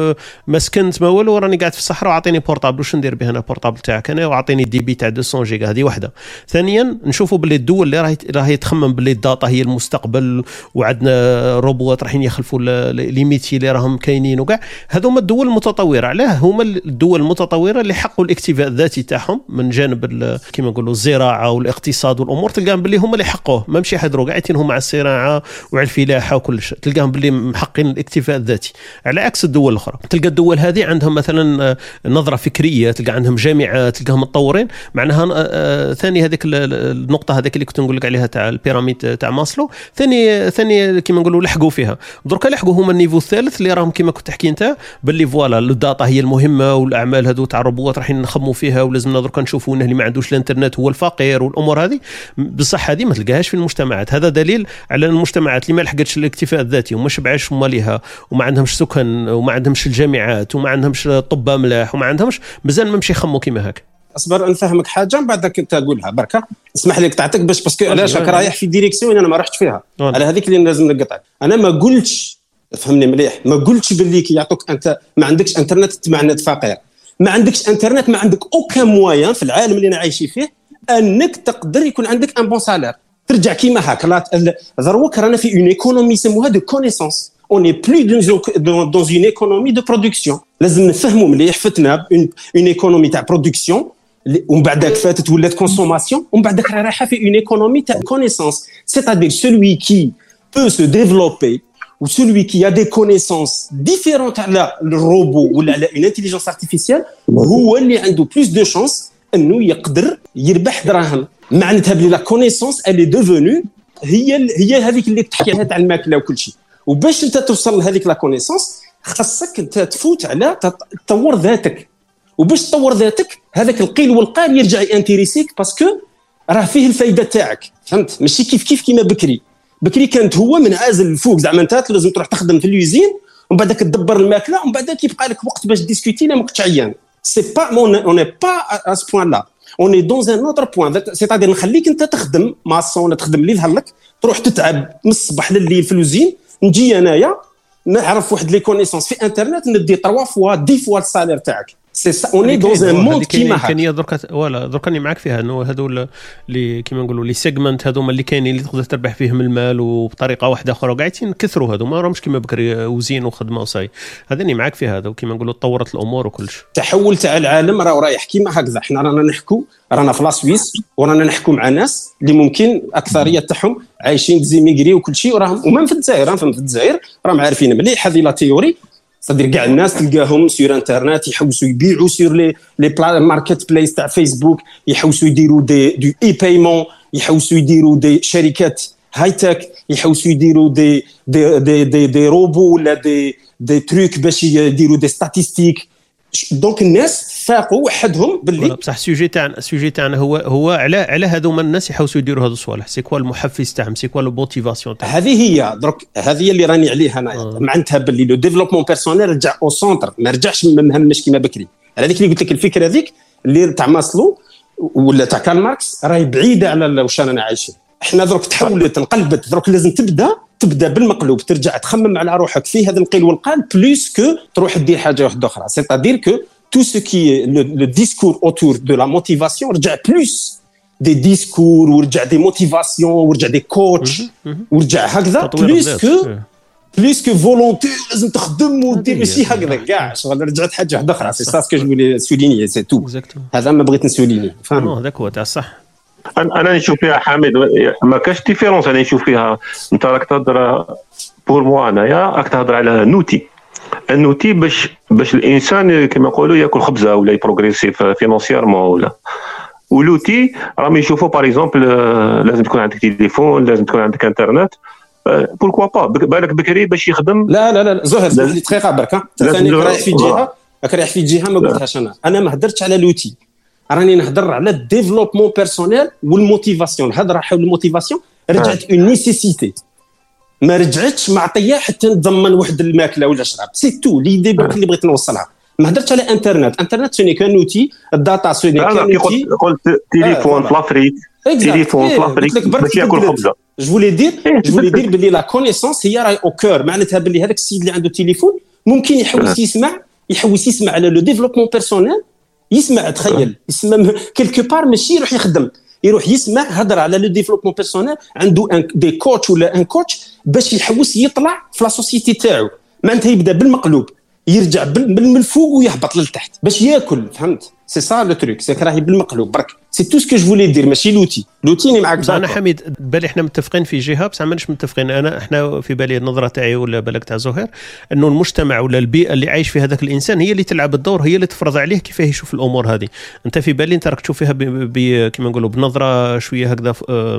Speaker 1: ما سكنت ما والو، راني قاعد في الصحراء وعطيني بورطابل، واش ندير به انا بورطابل تاعك انا وعطيني دي بي تاع 200 جيجا. هذه واحده. ثانيا نشوفوا باللي الدول اللي راهي تخمم باللي الداتا هي المستقبل وعندنا روبوت رايحين يخلفوا ليميتي اللي راهم كاينين وكاع، هذوما الدول المتطوره. علاه هما الدول المتطوره اللي حقوا الاكتفاء الذاتي تاعهم من جانب كما نقولوا الزراعه والاقتصاد والامور، تلقاهم باللي هما اللي حقوه، ما مشي حد قاعدين هم على الزراعه وعلى الفلاحه وكل شيء، تلقاهم باللي محقين الاكتفاء الذاتي، على عكس الدول الاخرى. تلقى الدول هذه عندهم مثلا نظره فكريه، تلقى عندهم جامعات، تلقاهم متطورين. معناها ثاني هذيك النقطه هذيك اللي كنت نقول لك عليها تاع البيراميد تاع ماسلو، ثاني كما نقولوا لحقوا فيها. درك لحقوا هما النيفو الثالث اللي راهم كما كنت تحكي انت باللي فوالا الداتا هي المهمه والاعمال هذو تاع الروبوات رايحين نخموا فيها، ولازمنا درك نشوفوا انه اللي ما عندوش الانترنت هو الفقير والامور هذه. بصح هذه ما تلقاهاش في المجتمعات. هذا دليل على المجتمعات اللي ما لحقتش الاكتفاء الذاتي وما شبعش مالها وما عندهمش سكن وما عندهمش الجامعات وما عندهمش طب ملاح وما عندهمش، مازال ما مشي يخموا كيما هاك.
Speaker 2: اصبر نفهمك حاجه من بعدك انت تقولها بركه، اسمح لي قطعتك باسكو علاش راك رايح في ديريكسيون انا ما رحتش فيها. على هذيك اللي لازم نقطعك. انا ما قلتش، فهمني مليح، ما قلتش باللي كي يعطوك انت ما عندكش انترنت معنات فقير، ما عندكش انترنت ما عندك اوكان موان في العالم اللي انا عايش فيه انك تقدر يكون عندك ان بون سالير ترجع كيما هاك. دروك رانا في اون ايكونومي يسموها دو كونيسونس، اون اي بلو دون اون ايكونومي دو برودكسيون. لازم نفهموا مليح فتنا اون ايكونومي تاع برودكسيون ومن بعدك فاتت ولات كونسوماسيون ومن بعدك رايحه في اون ايكونومي تاع كونيسونس. سيتادير سولوي كي peut se développer ou celui qui a des connaissances différentes على الروبو ولا على une intelligence artificielle هو اللي عنده plus de chance انه يقدر يربح دراهم. معناتها بلي la connaissance elle est devenue هي هذيك اللي تحكي عليها تاع الماكله وكل شيء. وباش انت توصل لهذيك لا كونيسونس خاصك انت تفوت على تطور ذاتك. وباش تطور ذاتك هذاك القيل والقال يرجع يانتيريسيك باسكو راه فيه الفايده تاعك، فهمت؟ ماشي كيف كيما بكري كانت هو من عازل الفوق، زعما انت لازم تروح تخدم في اليوزين ومن بعد تدبر الماكله ومن بعد كيبقى لك وقت باش ديسكوتي لا ما كنتش عيان. سي با اون با ا سو بوين لا، اون اي دون ان اوتر بوين، سيتادير نخليك انت تخدم ماسون، تخدم اللي يظهر لك، تروح تتعب من الصباح لليل في اليوزين، نجي انايا نعرف واحد لي كونيسونس في انترنت ندي 3 فوا 10 فوا السالير تاعك. سي سا اوني دون ان موند كيما هكا.
Speaker 1: كاين درك راني معاك فيها انه هذو اللي كيما نقولوا لي سيجمنت هذوما اللي كاينين اللي تقدر تربح فيهم المال وبطريقه واحده اخرى قاعدين كثروا هذو ما راهمش كيما بكري وزين وخدمه وصاي. هذا راني معاك فيها هذا وكيما نقولوا تطورت الامور وكلش.
Speaker 2: تحول تاع العالم راه رايح كيما هكذا. احنا رانا نحكوا رانا في لاسويس ورانا نحكوا مع ناس اللي ممكن اكثريه تاعهم عايشين ديزيميغري وكل شيء وراهم ومن في الجزائر في الجزائر راهم عارفين مليح هذه لا تيوري. صدر كاع الناس تلقاهم سور انترنت يحوسوا يبيعوا سور لي ماركت بلايس تاع فيسبوك، يحوسوا يديروا دي اي بايمون، يحوسوا يديروا دي شركات هاي تك، يحوسوا يديروا دي روبو ولا دي تروك باش يديروا دي ستاتستيك. دونك الناس فاقوا وحدهم باللي
Speaker 1: بصح السوجي تاعنا هو على هذوما الناس يحوسوا يديروا هذو الصوالح. سي كوا المحفز تاعهم، سي كوا الموتيفاسيون تاعهم.
Speaker 2: هذه هي درك هذه اللي راني عليها انا معناتها باللي لو ديفلوبمون بيرسونيل رجع او سونتر، ما رجعش مهمش كيما بكري. على هذيك اللي قلت لك الفكره هذيك اللي تاع ماسلو ولا تاع كارل ماركس راهي بعيده على واش رانا عايشين. احنا درك تحولت انقلبت، درك لازم تبدا بالمقلوب، ترجع تخمم على روحك في هذا القيل والقال بلوس كو تروح دير حاجه واحده اخرى. سيتادير كو tout ce qui est le discours autour de la motivation رجع plus des discours ورجع des motivations ورجع des coachs ورجع هكذا plus que volonté لازم تخدم ودير ماشي هكذا كاع شغل. رجعت حاجه واحده اخرى. سي سا سكو جو فولي سوليني سي تو. هذا ما بغيت نسوليني فاهم.
Speaker 1: هذاك هو تاع صح.
Speaker 3: انا نشوف فيها حامد ما كاش ديفيرونس. انا نشوف فيها انت راك تهضر بور موا انايا راك تهضر على نوتي باش الانسان كما يقولوا ياكل خبزه ولا يبروغريسي فينانسييرمون ولا ولوتي راهم يشوفوا باغ اكزومبل لازم تكون عندك تليفون، لازم تكون عندك انترنت. بوركوا با بالك بكري باش يخدم.
Speaker 2: لا زهر دقيقه برك. ثاني رايح في جهه ما قلتهاش انا ما هدرتش على لوتي، راني نهضر على الديفلوبمون بيرسونيل والموتيفاسيون. الهضره حول الموتيفاسيون رجعت اون نيسيسيتي، ما رجعتش معطيه حتى نضمن واحد الماكله ولا شراب. سي تو لي دي اللي بغيت نوصلها. ما هدرتش على انترنت سوني كان اوتي، الداتا سوني كان اوتي.
Speaker 3: قلت تليفون في لافريك، تليفون في لافريك باش ياكل خبزه.
Speaker 2: جو فولي دير باللي لا كونيسونس هي راي او كور. معناتها باللي هذاك السيد اللي عنده تليفون ممكن يحوس يسمع على لو ديفلوبمون بيرسونيل، يسمع تخيل يسمع كيلكو بار ماشي يروح يخدم، يروح يسمع هضر على لو ديفلوبمون بيرسونيل، عنده دي كوتش ولا ان كوتش باش يحوس يطلع في لا سوسيتي تاعو. معناتها يبدا بالمقلوب يرجع من الفوق ويهبط للتحت باش ياكل. فهمت؟ سي سا لو تروك، سي راهي بالمقلوب برك. سي تو سكو جو فولي دير ماشي لوتي ني معاك.
Speaker 1: انا حميد بالي احنا متفقين في جهه بصح ماناش متفقين. احنا في بالي النظره تاعي ولا بالك تاع زهير انه المجتمع ولا البيئه اللي عايش فيها هذاك الانسان هي اللي تلعب الدور، هي اللي تفرض عليه كيفاه يشوف الامور هذه. انت في بالي انت راك تشوف فيها كيما نقولوا بنظره شويه هكذا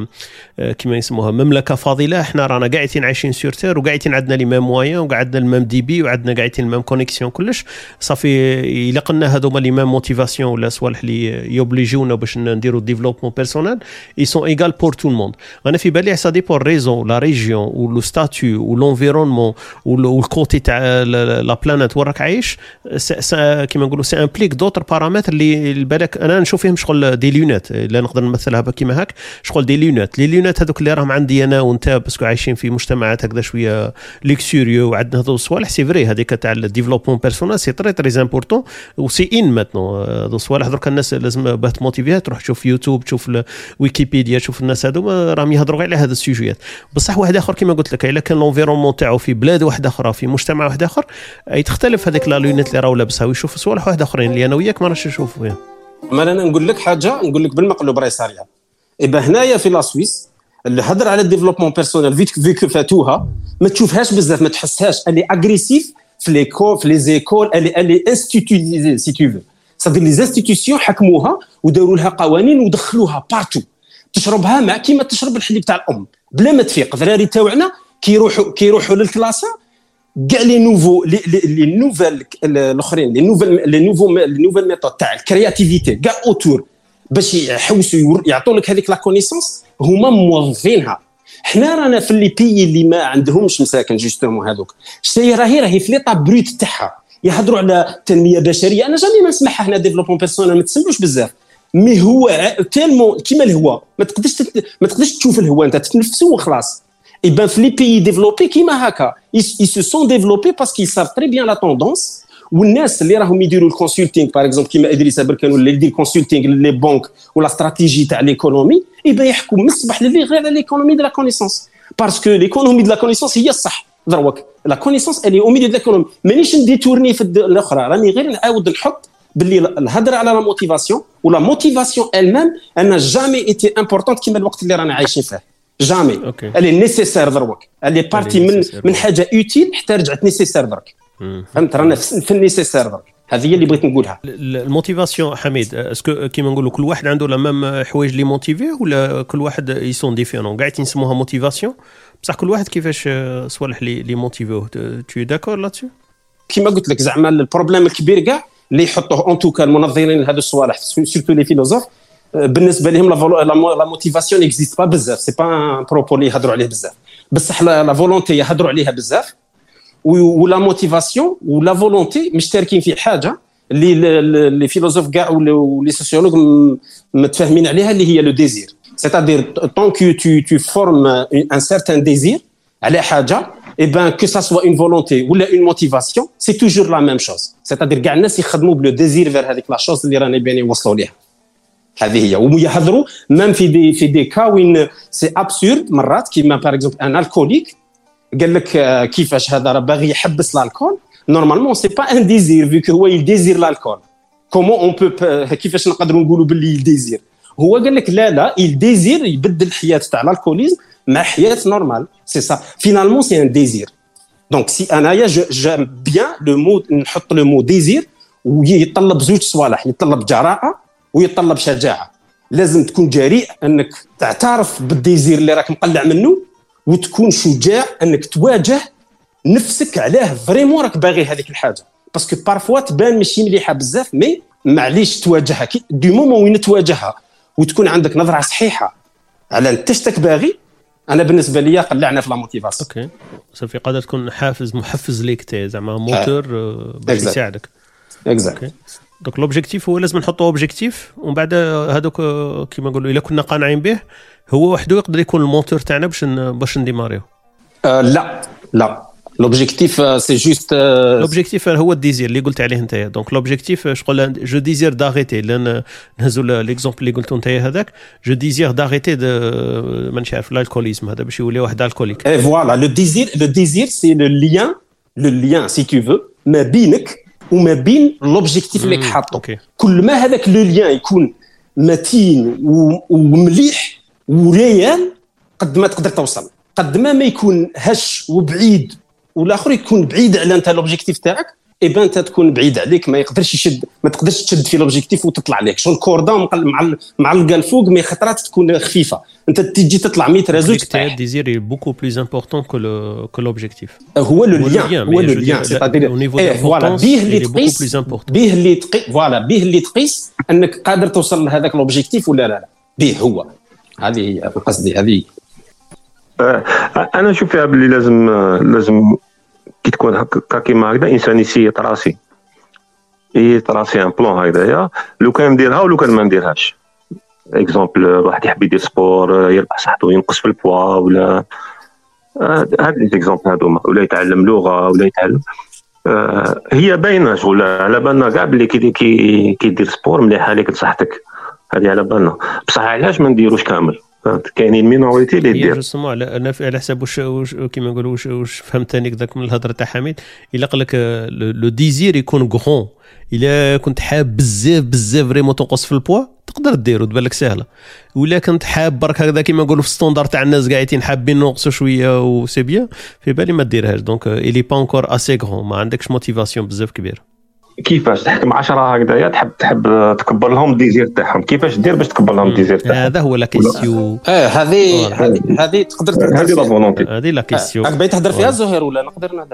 Speaker 1: كيما يسموها مملكه فاضله. احنا رانا قاعدين عايشين سور تير وقاعدين عندنا لي ميم موين وقعدنا الميم دي بي وعندنا قاعدين الميم كونيكسيون كلش صافي. يلقنا هذوما لي ميم موتيفاسيون ولا صوالح اللي يوبليجونا باش نديروا ديفلوبمون بيرسونيل ils sont égaux pour tout le monde. انا في بالي ça dépend raison la région ou le statut ou l'environnement ou le côté تاع la planète وراك عايش. كيما نقولوا سي امبليك دوتر بارامتر اللي بالك انا نشوف فيهم شغل دي لونات اللي نقدر نمثلها كيما هاك شغل دي لونات. لي لونات هذوك اللي راهم عندي انا وانت باسكو عايشين في مجتمعات هكذا شويه ليكسوريو وعندنا هذو الصوالح. سي فري هذيك تاع الديفلوبمون بيرسونيل سي تري تري امبورطون وسي ان ماتنو. هذو الصوالح درك الناس لازم باه تموتيفيها تروح تشوف يوتيوب، تشوف ويكيبيديا، تشوف الناس هذوما راهم يهضروا على هذا السوجيات. بصح واحد اخر كما قلت لك الا كان لونفيرونمون تاعو في بلاد واحده اخرى في مجتمع واحد اخر يتختلف هذيك لا لونيت اللي راهو لابسها ويشوف صوالح واحد اخرين اللي انا وياك ما راش نشوفوا فيها.
Speaker 2: ما انا نقول لك حاجه، نقول لك بالمقلوب راهي صاريه. ايبا هنايا في لا سويس اللي هضر على الديفلوبمون بيرسونيل فيك فاتوها ما تشوفهاش بزاف، ما تحسهاش اللي اغريسيف في ليكول في لي زيكول اللي انستيتوتيزي سي تو في. صدق لي انستيتيوشن حكموها وداروا لها قوانين ودخلوها بارتو تشربها مع كيما تشرب الحليب تاع الام بلا ما تفيق. الدراري تاعنا كيروحوا للكلاسه كاع لي نوفو لي نوفال الاخرين لي نوفال ميثود تاع الكرياتيفيتي كاع اوتور باش يحوسوا يعطوا لك هذيك لا كونيسونس هما موظفينها. حنا رانا في لي بيي اللي ما عندهمش مساكن جوستومون هذوك شتي راهي في ليطا بروت تاعها يهضروا على تنميه بشريه. انا جامي ما نسمعها هنا ديفلوبمون بيرسونيل ما تسمعوش بزاف مي هو تالمون كيما الهواء ما تقدرش تشوف الهواء انت تتنفسه وخلاص. Et ben في لي بيي ديفلوبي كيما هكا ils se sont développés parce qu'ils savent très bien la tendance. والناس اللي راهم يديروا الكونسلتينغ باغ اكزومبل كيما ادريس بركان ولا يدير كونسلتينغ لي بنك ولا استراتيجي تاع ليكونومي يبقى يحكوا من الصباح لليل غير على ليكونومي دو لا كونيسونس باسكو ليكونومي دو لا كونيسونس هي الصح دروك لا كونيسونس اللي او ميليو دو ليكونومي مانيش نديتورني في الاخرى راني غير نعاود نحط باللي الهضره على لا موتيفاسيون ولا موتيفاسيون المام انا جامي ايتي امبورطونت كيما الوقت اللي رانا عايشين فيه جامي اللي نيسيسير دروك اللي بارتي من حاجه اوتيل حتى رجعت نيسيسير دروك فهمت رانا في النيسيسير دروك. هذه هي اللي بغيت نقولها.
Speaker 1: الموتيفاسيون حميد اسكو كيما نقولوا كل واحد عنده لا ميم حوايج لي موتيفيه ولا كل واحد يسون ديفيرون كاع يسموها موتيفاسيون بصح كل واحد كيفاش صوالح لي موتيفوه تو داكور لاتسو
Speaker 2: كيما قلت لك زعما البروبليم الكبير كاع اللي يحطوه اون توكا المنظرين لهذو الصوالح سورتو لي فيلوزوف بالنسبه لهم لا موتيفاسيون اكزيست با بزاف سي با ان بروبو اللي يهضروا عليه بزاف بصح لا فولونتي يهضروا عليها بزاف ولا موتيفاسيون ولا فولونتي مشتركين في حاجه اللي فيلوزوف كاع ولي سوسيولوج متفاهمين عليها اللي هي لو ديزير c'est-à-dire tant que tu formes un certain désir على حاجه et ben que ça soit une volonté ou une motivation c'est toujours la même chose c'est-à-dire كاع الناس يخدموا بلو ديزير فير هذيك لا شوز اللي رانا باين يوصلوا ليها. هذه هي ويهضروا ميم في دي كا وين سي ابسورد مرات كيما باغ اكزومبل ان الكوليك قال لك كيفاش هذا راه باغي يحبس الكول نورمالمون سي با ان ديزير فيك هو يديزير الكول كومون اون بو كيفاش نقدروا نقولوا باللي يديزير هو قال لك لا يديزير يبدل الحياه تاع الكوليزم مع حياه نورمال سي سا فينالمون سي ان ديزير دونك سي انايا جام بيان لو مو نحط لو مو ديزير ويطلب زوج صوالح يطلب جراءه ويطلب شجاعه. لازم تكون جريء انك تعترف بالديزير اللي راك مقلع منه وتكون شجاع انك تواجه نفسك علاه فريمون راك باغي هذيك الحاجه باسكو بارفوا تبان ماشي مليحه بزاف مي معليش تواجهها دو مومون وين تواجهها وتكون عندك نظره صحيحه على انت شتك باغي. انا بالنسبه لي قلعنا في لا موتيفاسيون
Speaker 1: اوكي صافي قادر تكون محفز ليك تي زعما موتور باش يساعدك
Speaker 2: اكزاكت.
Speaker 1: دونك لوبجيكتيف هو لازم نحطوا اوبجيكتيف ومن بعد هذوك كيما نقولوا الا كنا قانعين به هو وحده يقدر يكون الموتور تاعنا باش نديماريو.
Speaker 2: لا لوبجيكتيف سي جوست
Speaker 1: لوبجيكتيف هو الديزير اللي قلت عليه انت. دونك لوبجيكتيف شغل جو ديزير داريتي لان نهزوا ليكزامبل اللي قلتو انت هذاك جو ديزير داريتي مانيش عارف الكوليزم هذا باش يولي واحد الكوليك
Speaker 2: اي فوالا لو ديزير سي لو ليان سي تو فو ما بينك وما بين لوبجيكتيف اللي حاطه. كل ما هذاك لو ليان يكون متين ومليح وريال قد ما تقدر توصل قد ما يكون هش وبعيد والاخر يكون بعيد على انت لوبجيكتيف تاعك اي بان انت تكون بعيد عليك ما يقدرش يشد ما تقدرش تشد في لوبجيكتيف وتطلع عليك شو الكوردون معلقه الفوق مي خطرات تكون خفيفه انت تجي تطلع 100 ريزو
Speaker 1: تاع ديزير بوكو بليز امبورطون كو لوبجيكتيف
Speaker 2: هو لو ليان سيتادير فوالا به اللي تقيس انك قادر توصل لهذاك لوبجيكتيف ولا لا به هو هذه هي قصدي هذه.
Speaker 3: انا نشوف فيها باللي لازم كي تكون هكا كيما هكذا انسان يسيط راسي ان بلان هكذايا لو كان نديرها ولو كان ما نديرهاش. اكزومبل واحد يحب يدير سبور يربح صحته ينقص في البوا ولا هاد لي اكزومبل هذوما ولا يتعلم لغه ولا يتعلم هي باينه شغل على بالنا كاع بلي كي دير سبور مليحه ليك لصحتك هذه على بالنا بصح علاش ما نديروش كامل كاينين مينوريتي اللي دير
Speaker 1: جوستومون على حساب واش كيما نقولوا واش فهمت ثاني كذاك من الهضره تاع حميد الا قال لك لو ديزير يكون غرون الا كنت حاب بزاف فريمون تنقص في البوا تقدر ديرو تبان لك سهله ولا كنت حاب برك هكذا كيما نقولوا في ستاندار تاع الناس قاعدين حابين نقصوا شويه وسي بيان في بالي ما ديرهاش دونك الي با انكور اسي غرون ما عندكش موتيفاسيون بزاف كبير.
Speaker 3: كيفاش تحكم 10 هكذايا تحب تكبر لهم الديزير تاعهم، كيفاش دير باش تكبر لهم الديزير تاعهم؟
Speaker 1: هذا هو لا كيسيون.
Speaker 2: هذه تقدر تهضر
Speaker 3: هذه لا فولونتي،
Speaker 1: هذه لا كيسيون.
Speaker 2: راك باغي تهضر فيها زهير ولا نقدر نهضر؟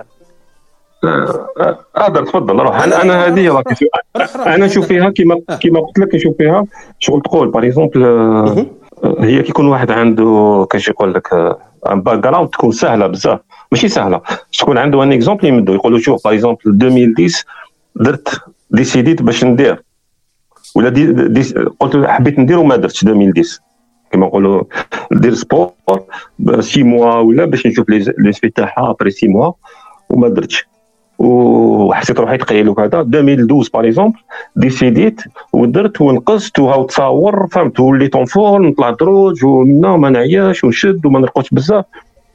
Speaker 3: تفضل روح. انا هذه لا كيسيون انا نشوف فيها كيما قلت لك، نشوف فيها شغل تقول باغ اكزومبل هي كيكون واحد عنده كاش يقول لك ان باك جراوند تكون سهله بزاف، ماشي سهله تكون عنده ان اكزومبل يمدو يقولوا شوف باغ اكزومبل 2010 درت ديسيديت باش ندير ولا قلت حبيت ندير وما درتش 2010 كما نقولوا ندير سبور 6 موا ولا باش نشوف لي سبي تاعها ابري 6 موا وما درتش وحسيت روحي ثقيل وكذا. 2012 باغ اكزومبل ديسيديت ودرت ونقصت وهاو تصاور فهمت، وليت اون فورم نطلع دروج ومنا ما نعياش ونشد وما نرقدش بزاف.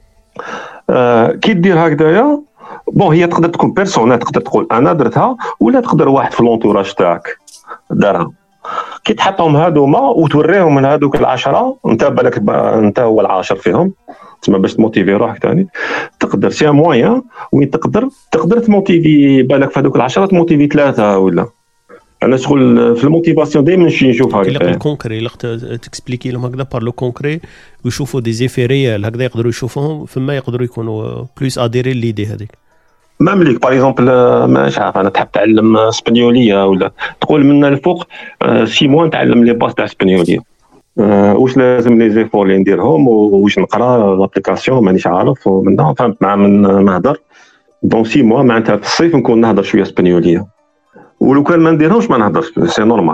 Speaker 3: كي دير هكذايا بون هي تقدر تكون بيرسونال، تقدر تقول انا درتها ولا تقدر واحد في لونتوراج تاعك دارها. كي تحطهم هذوما وتوريهم من هذوك العشرة انت بالك انت هو العاشر فيهم تسمى باش تموتيفي روحك ثاني تقدر سي موين وين تقدر تموتيفي بالك في هذوك العشرة تموتيفي 3 ولا. انا شغل في الموتيفاسيون دائما نشوف هكذا
Speaker 1: الكونكري تكسبليكي لهم هكذا بار لو كونكري ويشوفوا دي زيفي ريال هكذا يقدروا يشوفوهم فما يقدروا يكونوا بلوس اديري ليدي هذيك.
Speaker 3: ما مليك باغ اكزومبل مش عارف انا تحب تعلم اسبانيوليه ولا تقول من الفوق 6 موا نتعلم لي باس تاع اسبانيوليه، واش لازم لي زيفور اللي نديرهم واش نقرا لابليكاسيون مانيش عارف ومن فهمت مع من نهضر دون 6 موا معناتها في الصيف نكون نهضر شويه اسبانيوليه ولو كان ما نديرهمش ما نهضرش سي نورمال.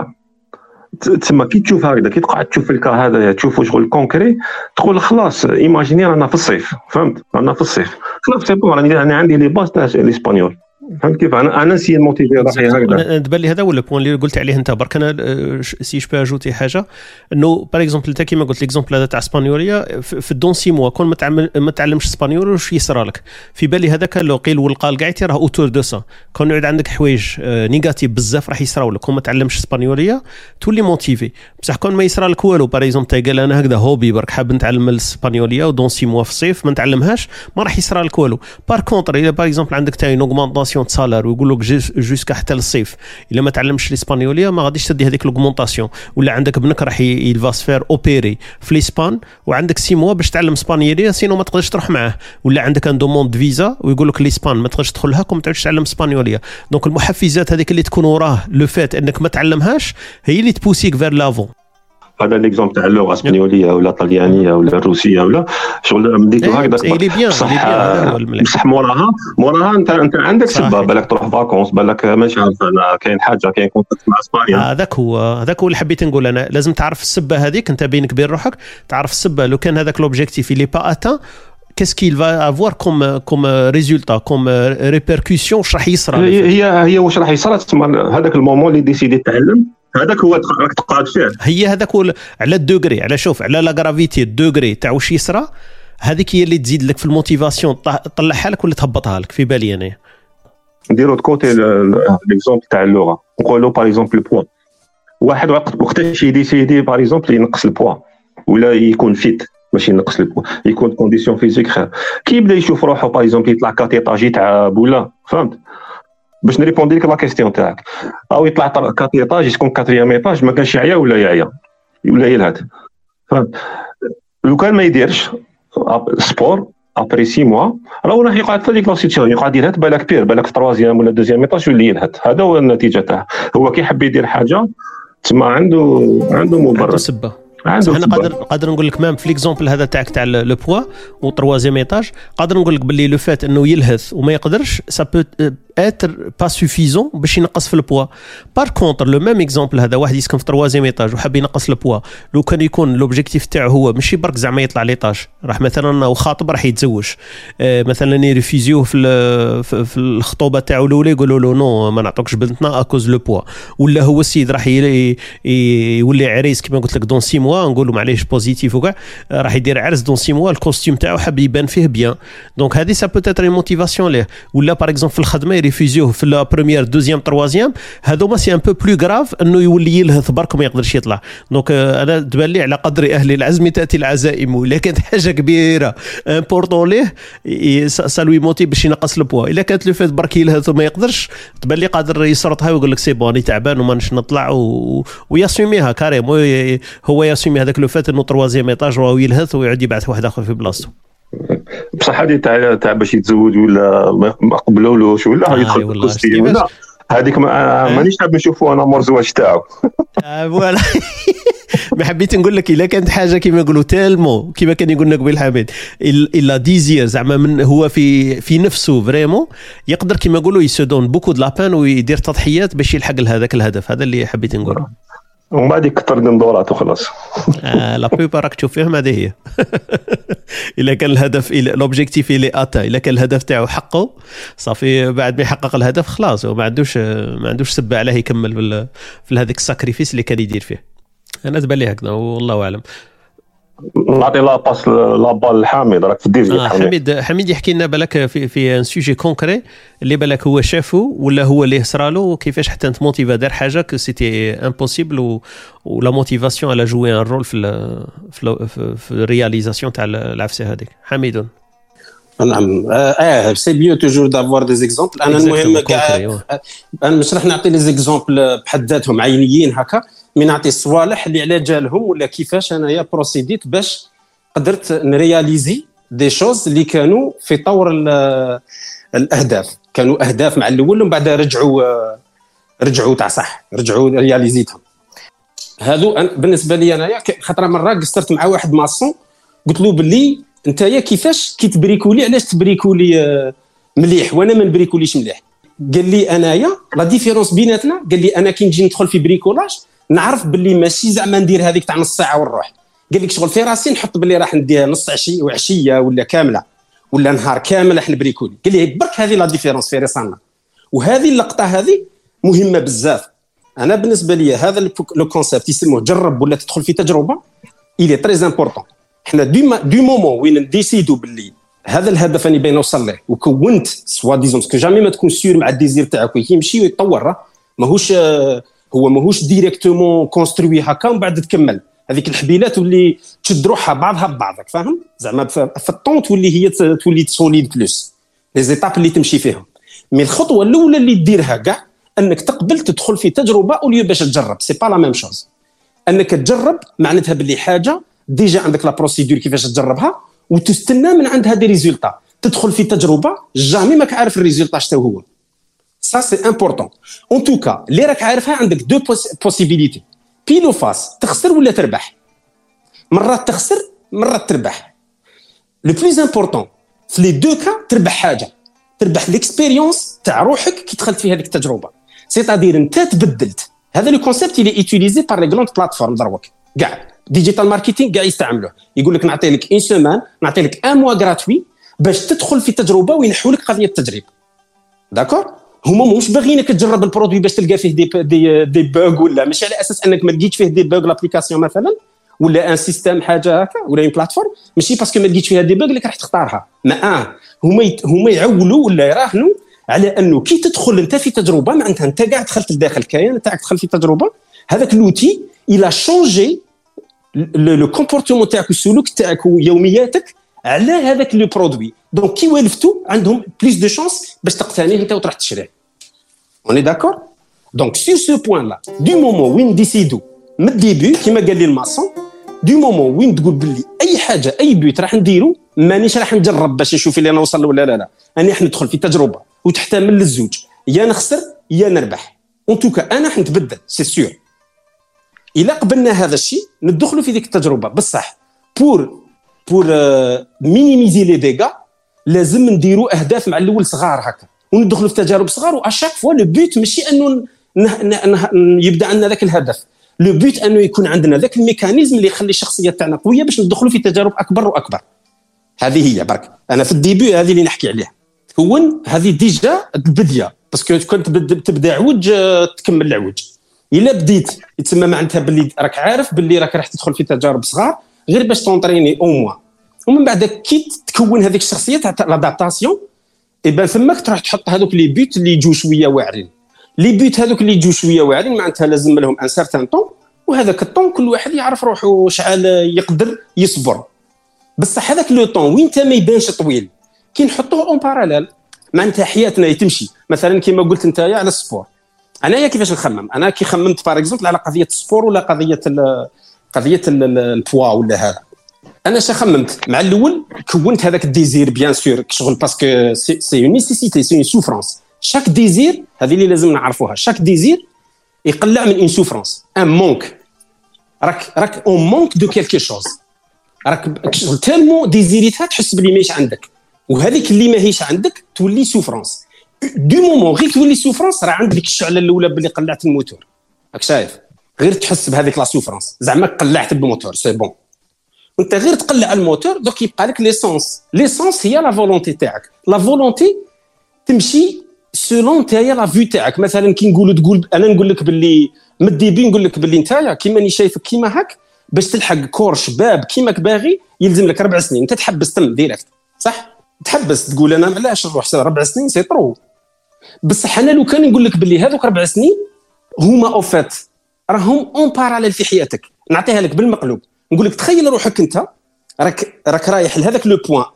Speaker 3: تسمى كي تشوف هكذا كي تقعد تشوف الكا هذا تشوفوا شغل كونكري تقول خلاص ايماجيني رانا في الصيف فهمت رانا في الصيف خلاص سي بون انا عندي لي باس تاع الاسبانيول فهمت كيف انا نسي الموتيفي روحي هكذا.
Speaker 1: تبان لي هذا هو البوين اللي قلت عليه انت برك. انا سي جو اجوتي حاجه انه باغ اكزومبل انت كيما قلت ليكزومبل هذا تاع اسبانيوليه في الدون 6 موا كون ما تعلمش اسبانيول واش يصرى لك في بالي هذاك لو قيل والقال كاع راه اوتور دو سا كون يعود عندك حوايج نيجاتيف بزاف راح يصراو لك كون ما تعلمش اسبانيوليه تولي موتيفي بصح كون ما يصرى لك والو باغ اكزومبل قال انا هكذا هوبي برك حاب نتعلم الاسبانيوليه ودون 6 موا في الصيف ما نتعلمهاش ما راح يصرى لك والو. بار كونتر الا باغ اكزومبل عندك تاع اون اوغمونطاسيون دو سالار ويقول جوسكا حتى للصيف الا ما تعلمش الاسبانيوليه ما غاديش تدي هذيك لوغمونطاسيون ولا عندك ابنك راح يلفاسفير اوبيري في الاسبان وعندك 6 موا باش تعلم اسبانيوليه سينو ما تقدرش تروح معاه ولا عندك ان دوموند فيزا ويقول لك الاسبان ما تقدرش تدخلها كون ما تعرفش تعلم اسبانيوليه. دونك المحفزات هذيك اللي تكون وراه لو فات انك ما تعلمهاش هي اللي تبوسيك فير لافون.
Speaker 3: هذا ليكزومبل تاع اللغه الاسبانيوليه ولا الطليانيه ولا الروسيه ولا شغل مديتو هكذا بصح موراها انت عندك سبه بالك تروح فاكونس بالك ماشي عارف انا كاين حاجه كاين كونتاكت مع اسبانيا.
Speaker 1: هذاك هو اللي حبيت نقول انا لازم تعرف السبه هذيك انت بينك بين روحك تعرف السبه لو كان هذاك لوبجيكتيف اللي با اتان qu'est-ce qu'il va avoir comme résultat comme répercussion واش راح يصرى
Speaker 3: هي واش راح يصرى تسمى هذاك المومون اللي ديسيدي تعلم هذاك هو راك تقعد فيه
Speaker 1: هي هذاك على الدوغري على شوف على لا غرافيتي الدوغري تاع واش يصرى هذيك هي اللي تزيد لك في الموتيفاسيون تطلعها لك ولا تهبطها لك في بالي انا.
Speaker 3: نديرو كوتي ليكزومبل تاع اللغه نقولوا باغ اكزومبل البوا واحد وقتاش يديسيدي باغ اكزومبل ينقص البوا ولا يكون فيت ماشي ينقص البوا يكون كونديسيون فيزيك خير كي يبدا يشوف روحه باغ اكزومبل يطلع كاتيطاجي تاع بولا فهمت باش نريبوندي لك لا كيستيون تاعك او يطلع كاتيطاج يكون كاتريام ايطاج ما كانش يعيا ولا يلهث فهمت. لو كان ما يديرش سبور ابري 6 موا راه راح يقعد في ديك لا سيتياسيون يقعد يلهث بالك بير بالك في 3 ولا 2 ايطاج يولي يلهث. هذا هو النتيجه تاعه هو كي يحب يدير حاجه تسمى عنده مبرر
Speaker 1: سبه. انا قادر نقول لك مام في ليكزومبل هذا تاعك تاع لو بوا و 3 ايطاج قادر نقول لك باللي لو فات انه يلهث وما يقدرش سا بو اتر با سوفيزون باش ينقص في البوا. بار كونتر لو ميم اكزومبل هذا واحد يسكن في 3 ايطاج وحاب ينقص البوا لو كان يكون لوبجيكتيف تاعو هو ماشي برك زعما يطلع ليطاج راح مثلا وخاطب راح يتزوج مثلا يريفيزيوه في الخطوبه تاعو الاولى يقولوا له نو ما نعطوكش بنتنا اكوز لو بوا ولا هو السيد راح يولي عريس كما قلت لك دون 6 موا نقولوا معليش بوزيتيف وكاع راح يدير عرس دون 6 موا الكوستيم تاعو حاب يبان فيه بيان دونك هذه سا بوتيتر موتيفاسيون ليه ولا باغ اكزومبل في الخدمه يريفيزيوه في لا بروميير دوزيام تروازيام، هذوما سي ان بو بلو غراف انه يولي يلهث برك وما يقدرش يطلع. دونك انا تبان لي على قدر اهل العزم تاتي العزائم، الا كانت حاجه كبيره امبورطون ليه سالوي موتي باش ينقص البوا. الا كانت لو فات برك يلهث وما يقدرش، تبان لي قادر يسرطها ويقول لك سي بوني تعبان وما نش نطلع وياسوميها كاريم. هو ياسومي هذاك لو فات انه تروازيام ايطاج وهو يلهث ويعود يبعث واحد اخر في بلاصتو.
Speaker 3: بصح هذه تاع باش يتزوج ولا ما قبلولوش ولا يدخل في قصتي ولا هذيك مانيش حاب نشوفوا انا مور زواج تاعو.
Speaker 1: فوالا ما حبيت نقول لك الا كانت حاجه كيما يقولوا تالمو كيما كان يقول لنا قبيل حميد الا ديزير زعما من هو في نفسه فريمون يقدر كيما يقولوا يسدون بوكو د لابان ويدير تضحيات باش يلحق لهذاك الهدف. هذا اللي حبيت نقوله.
Speaker 3: ومن بعد يكثر من دورات وخلاص.
Speaker 1: لا بيبا راك تشوف فيهم هذه هي. الا كان الهدف لوبجيكتيف اللي اتا، الا كان الهدف تاعو حقه صافي، بعد ما يحقق الهدف خلاص وما عندوش سبه عليه يكمل في هذاك الساكريفيس اللي كان يدير فيه. انا تبان لي هكذا والله اعلم.
Speaker 3: نعطي لا باس لا بال حميد راك في الدير.
Speaker 1: حميد يحكي لنا بالك في ان سوجي كونكري اللي بالك هو شافه ولا هو اللي صرالو وكيفاش حتى انت موتيفا دار حاجه كو سيتي امبوسيبل ولا موتيفاسيون على جوي ان رول في الرياليزاسيون تاع العفسه هذيك. حميد
Speaker 2: نعم سي بيو توجور دافوار دي زيكزامبل. انا المهم كاع انا مش راح نعطي لي زيكزامبل بحد ذاتهم عينيين هكا، من نعطي الصوالح اللي على جالهم ولا كيفاش انايا بروسيديت باش قدرت نرياليزي دي شوز اللي كانوا في طور الاهداف. كانوا اهداف مع الاول ومن بعد رجعوا تاع صح، رجعوا رياليزيتهم. هادو بالنسبه لي انايا خطره مره قصرت مع واحد ماسون قلت له باللي نتايا كيفاش كي تبريكولي علاش تبريكولي مليح وانا ما نبريكوليش مليح. قال لي انايا لا ديفيرونس بيناتنا، قال لي انا كي نجي ندخل في بريكولاج نعرف باللي ماشي زعما ندير هذيك تاع نص ساعه ونروح. قال لك شغل في راسي نحط باللي راح ندير نص عشيه ولا كامله ولا نهار كامل راح نبريكولي. قال لي برك هذه لا ديفيرونس في راسنا. وهذه اللقطه هذه مهمه بزاف. انا بالنسبه لي هذا لو كونسيبت يسموه جرب ولا تدخل في تجربه إلي تري امبورطون. احنا دو مومون وين نديسيدو باللي هذا الهدف اني باين نوصل له وكونت سوا ديزون سكو جامي ما تكون سيور مع الديزير تاعك يمشي ويتطور. ماهوش ديريكتومون كونستروي هكا ومن بعد تكمل هذيك الحبيلات واللي تشد روحها بعضها ببعضك فاهم زعما في الطون تولي هي تولي سوليد بلوس لي زيتاب اللي تمشي فيهم. مي الخطوه الاولى اللي ديرها كاع انك تقبل تدخل في تجربه اوليو باش تجرب. سي با لا ميم شوز. انك تجرب معناتها باللي حاجه ديجا عندك لا بروسيدور كيفاش تجربها وتستنى من عندها دي ريزولتا. تدخل في تجربه جامي ماك عارف الريزولتا شتو هو. Ça c'est important. En tout cas, اللي راك عارفها عندك دو بوسيبيليتي بيلو فاس، تخسر ولا تربح. مرات تخسر مرات تربح. لو بلوز امبورطون في لي دو كا تربح حاجه، تربح ليكسبيريونس تاع روحك كي دخلت في هذيك التجربه. سيتادير انت تبدلت. هذا لو كونسيبت اللي يوتيليزي بار لي غروند بلاتفورم دروك كاع ديجيتال ماركتينغ كاع يستعملوه. يقول لك نعطي لك اون سيمان، نعطي لك ان موا غراتوي باش تدخل في تجربه وينحوا لك قضيه التجريب. داكور؟ هما مش باغيينك تجرب البرودوي باش تلقى فيه دي باغ ولا ماشي على اساس انك ما لقيتش فيه دي باغ لابليكاسيون مثلا ولا ان سيستيم حاجه هكا ولا ان بلاتفورم ماشي باسكو ما لقيتش فيها دي باغ اللي راح تختارها. ما هما يعولوا ولا يراهنوا على انه كي تدخل انت في تجربه معناتها انت قاعد دخلت لداخل الكيان تاعك دخل في تجربه. هذاك لوتي الى شونجي لو كومبورتمون تاعك والسلوك تاعك ويومياتك على هذاك لو برودوي. دونك كي والفتوا عندهم بليس دو شانس باش تقتنيه انت وتروح تشريه. On est d'accord? Donc sur ce point-là, du moment où on décide من الديبي كما قال لي الماسون du moment où تقول باللي اي حاجه اي بيوت راح نديرو مانيش راح نجرب باش نشوف اللي انا نوصل ولا لا انا راح ندخل في تجربه وتحتمل للزوج يا نخسر يا نربح. ان توكا انا راح نتبدل سي سيور. الا قبلنا هذا الشيء ندخلوا في ديك التجربه بصح بور مينيميزي لي ديغا لازم نديروا اهداف مع الاول صغار هكا وندخلوا في تجارب صغار. واشاك فوا لو بوت ماشي انه يبدا عندنا ذاك الهدف. لو بوت انه يكون عندنا ذاك الميكانيزم اللي يخلي الشخصيه تاعنا قويه باش ندخلوا في تجارب اكبر واكبر. هذه هي برك انا في الديبي هذه اللي نحكي عليها تكون هذه ديجا البديه باسكو كنت تبدا عوج تكمل العوج. الا بديت يتسمى معناتها باللي راك عارف باللي راك راح تدخل في تجارب صغار غير باش تونطريني او موا ومن بعد كي تكون هذيك الشخصيه تاع لادابتاسيون يبان ثماك تروح تحط هذوك لي بيوت اللي يجوا شويه واعرين. لي بيوت هذوك اللي يجوا شويه واعرين معناتها لازم لهم ان سارتان طون، وهذاك الطون كل واحد يعرف روحه شحال يقدر يصبر. بصح هذاك لو طون وين انت ما يبانش طويل كي نحطوه اون باراليل معناتها حياتنا تمشي. مثلا كما قلت انت على السبور، انايا كيفاش نخمم؟ انا كي خممت باغ اكزومبل على قضيه السبور ولا قضيه البوا ولا هذا، انا خممت مع الاول كونت هذاك الديزير بيان سور شغل باسكو سي اون نيسيسيتي سي اون سوفرانس. شاك ديزير هذه اللي لازم نعرفوها، شاك ديزير يقلع من اون سوفرانس ان مونك. راك اون مونك دو كيلكو شوز، راك تالمو ديزيريتها تحس بلي ماهيش عندك، وهذيك اللي ماهيش عندك تولي سوفرانس. دو مومون غير تولي سوفرانس راه عندك الشعله الاولى باللي قلعت الموتور، راك شايف؟ غير تحس بهذيك لا سوفرانس زعما قلعت الموتور سي بون. وانت غير تقلع الموتور دوك يبقى لك ليسونس. ليسونس هي لا فولونتي تاعك. لا فولونتي تمشي سولون تايا لا فيو تاعك. مثلا كي تقول انا نقول لك باللي مديبي نقول لك باللي نتايا كيما ني شايفك كيما هاك باش تلحق كور شباب كيماك باغي يلزم لك 4 سنين. انت تحبس تم ديريكت صح، تحبس تقول انا علاش نروح 4 سنين سي طرو. بصح انا لو كان نقول لك باللي هذوك 4 سنين هما اوفات راهم اون باراليل في حياتك، نعطيها لك بالمقلوب. نقول لك تخيل روحك انت راك رايح لهذاك لو بوين.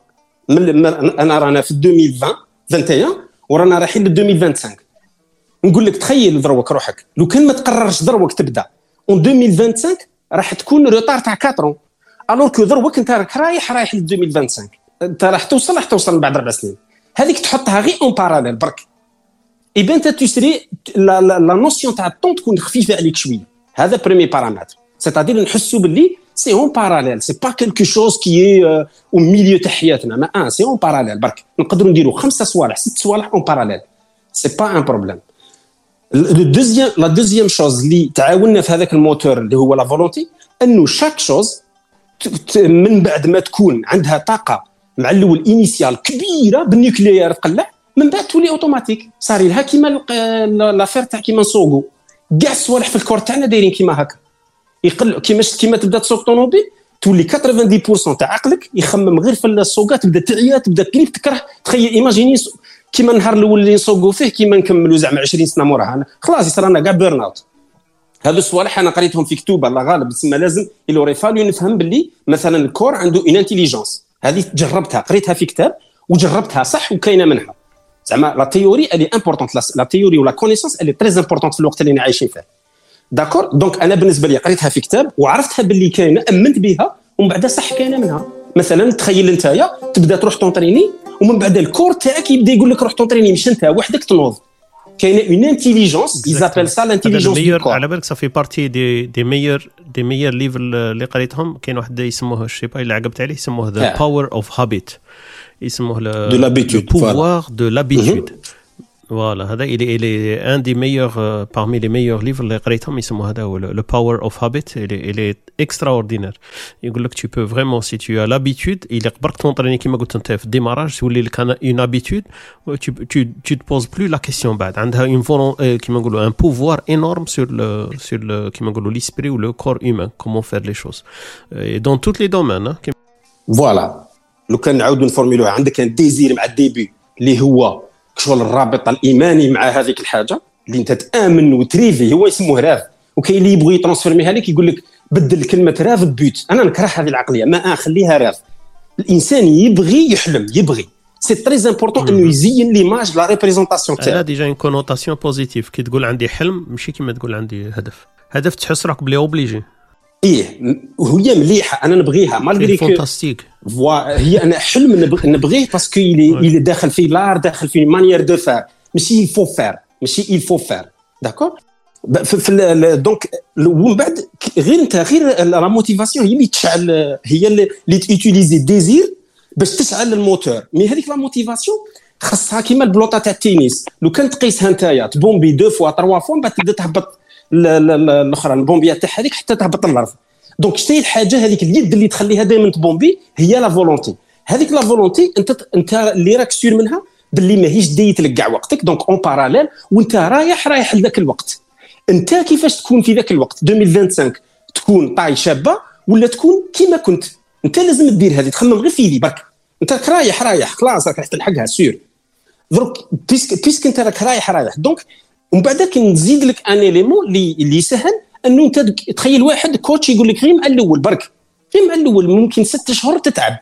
Speaker 2: انا رانا في 2021 ورانا رايحين ل 2025. نقول لك تخيل دروك روحك لو كان ما تقررش دروك تبدا اون 2025 راح تكون روتار تاع 4 الور كو دروك انت رايح ل 2025. انت راح توصل بعد 4 سنين. هذيك تحطها غير اون باراليل برك. اي انت تشري لا نوسيون تاع الطون تكون خفيفه عليك شويه. هذا بريمي بارامتر، سيتادير نحسوا باللي سي اون باراليل، سي با كلكو شوز كي او ميليو تاع حياتنا. ما سي اون باراليل برك. نقدروا نديروا 5 صوالح 6 صوالح اون باراليل، سي با ان بروبليم. لا دوزيام شوز اللي تعاوننا في هذاك الموتور اللي هو لا فولونتي، انه شاك شوز من بعد ما تكون عندها طاقه مع الاول انيسيال كبيره بالنيوكليير تقلع، من بعد تولي اوتوماتيك. صار لها كيما لافير تاع كيما نسوقوا كاع الصوالح في الكور تاعنا دايرين كيما هكا. يقل كيما تبدا تسوق طوموبيل تولي 90% تاع عقلك يخمم غير في السوقات، تبدا تعيا تبدا تليف تكره. تخيل ايماجيني كيما النهار الاول اللي نسوقوا فيه كيما نكملوا زعما 20 سنه موراها خلاص يصير لنا كاع بيرن اوت. هذو الصوالح انا قريتهم في كتب الله غالب، تسمى لازم يلوري فاليو نفهم باللي مثلا الكور عنده ان انتيليجنس. هذه جربتها قريتها في كتاب وجربتها صح وكاينه منها. زعما لا تيوري اللي امبورطونت، لا تيوري ولا كونيسونس اللي تري امبورطونت في الوقت اللي عايشين فيه. داكور دونك انا بالنسبه لي قريتها في كتاب وعرفتها باللي كاينه، امنت بها ومن بعد صح كاينه منها. مثلا تخيل انت تبدا تروح تونطريني ومن بعد الكور تاعك يبدا يقول لك روح تونطريني، مش انت وحدك تنوض. كاينه اون انتيليجنس يزابيل سا لانتيليجنس دو كور.
Speaker 1: على بالك صافي بارتي دي ميور ليفل اللي قريتهم. كاين واحد يسموه الشيبا اللي عقبت عليه يسموه ذا باور اوف هابيت، يسموه
Speaker 2: دو لابيتود،
Speaker 1: pouvoir de l'habitude. Voilà, هذا il est un des meilleurs parmi les meilleurs livres اللي قريتهم يسموه هذا هو le power of habit. il est extraordinaire. يقول لك tu peux vraiment si tu as l'habitude il قبرك تونطريني كيما قلت انت في الديماراج تولي لك une habitude tu te poses plus la question بعد. عندها une كيما نقولوا un pouvoir énorme sur le كيما نقولوا l'esprit ou le corps humain, comment faire les choses et dans tous les domaines.
Speaker 2: Voilà. لو كان نعاودوا نفورميلوها عندك ان ديزير مع الديبي اللي هو شغل الرابط الايماني مع هذيك الحاجه اللي انت تامن وتريفي، هو يسموه راف. وكاين اللي يبغي يترانسفيرميها لك يقول لك بدل كلمه راف ببيوت. انا نكره هذه العقليه، ما خليها راف. الانسان يبغي يحلم، يبغي سي تري امبورطون انه يزين ليماج لا ريبريزونطاسيون تاعو.
Speaker 1: هذا ديجا اون كونوتاسيون بوزيتيف. كي تقول عندي حلم ماشي كيما تقول عندي هدف تحس راك بلي اوبليجي.
Speaker 2: وهي مليحه انا نبغيها مالغري
Speaker 1: فانتاستيك.
Speaker 2: هي انا حلم نبغيه باسكو اللي داخل فيه لار، داخل فيه مانيير دو فار، ماشي يفو فار، ماشي يفو فار. داكور دونك ومن بعد غير انت غير لا موتيفاسيون هي اللي تشعل، هي اللي تيوتيليزي ديزير باش تشعل الموتور. مي هذيك لا موتيفاسيون خاصها كيما البلوطه تاع التنس، لو كان تقيسها نتايا تبومبي 2 فوا 3 فوا بعد تبدا تهبط الاخرى البومبيات تاع هذيك حتى تهبط للارض. دونك شتي الحاجه هذيك اليد اللي تخليها دائما تبومبي هي لا فولونتي. هذيك لا فولونتي انت اللي راك سير منها باللي ماهيش ديت لك كاع وقتك. دونك اون باراليل وانت رايح لذاك الوقت. انت كيفاش تكون في ذاك الوقت 2025 تكون طاي شابه ولا تكون كيما كنت؟ انت لازم تدير هذه، تخمم غير في ذي برك. انت رايح خلاص راك تلحقها سير. دروك بيسك انت راك رايح دونك ومن بعد كنزيد لك ان اليمون اللي سهل انه انت تخيل واحد كوتش يقول لك غير مع الاول برك غير مع الاول ممكن 6 شهور تتعب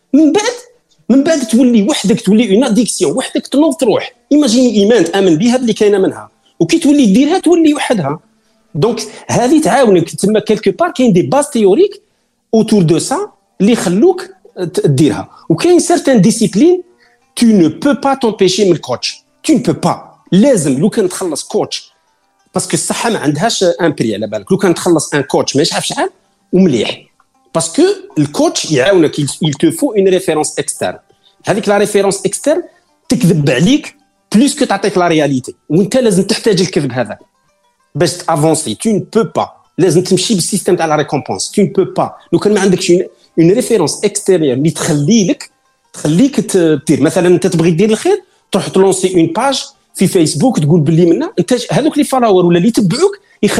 Speaker 2: من بعد تولي وحدك تولي اون اديكسيون وحدك تنوض تروح ايماجيني ايمان تامن بها اللي كاينه منها وكي تولي ديرها تولي وحدها دونك هذه تعاونك تما كيلكو بار كاين دي باز تيوريك اوتور دو سا اللي يخلوك ديرها وكاين سيرتان ديسيبلين tu ne peux pas t'empêcher من الكوتش tu ne peux pas لازم لو كان تخلص كوتش باسكو الصحه ما عندهاش ان بري على بالك لو كان تخلص ان كوتش ما يعرف شحال ومليح باسكو الكوتش يعاونك il te faut une référence externe هذيك لا ريفيرونس اكسترن تكذب عليك بلوس كو تعطيك لا رياليتي وانت لازم تحتاج الكذب هذا باش تافونسي tu ne peux pas لازم تمشي بالسيستم تاع لا ريكومبونس tu ne peux pas لو كان ما عندكش une référence extérieure اللي تخليك تدير مثلا انت تبغي دير الخير تروح تلونسي اون باج في فيسبوك تقول باللي منا انت هذوك لي فالوور ولا اللي يتبعوك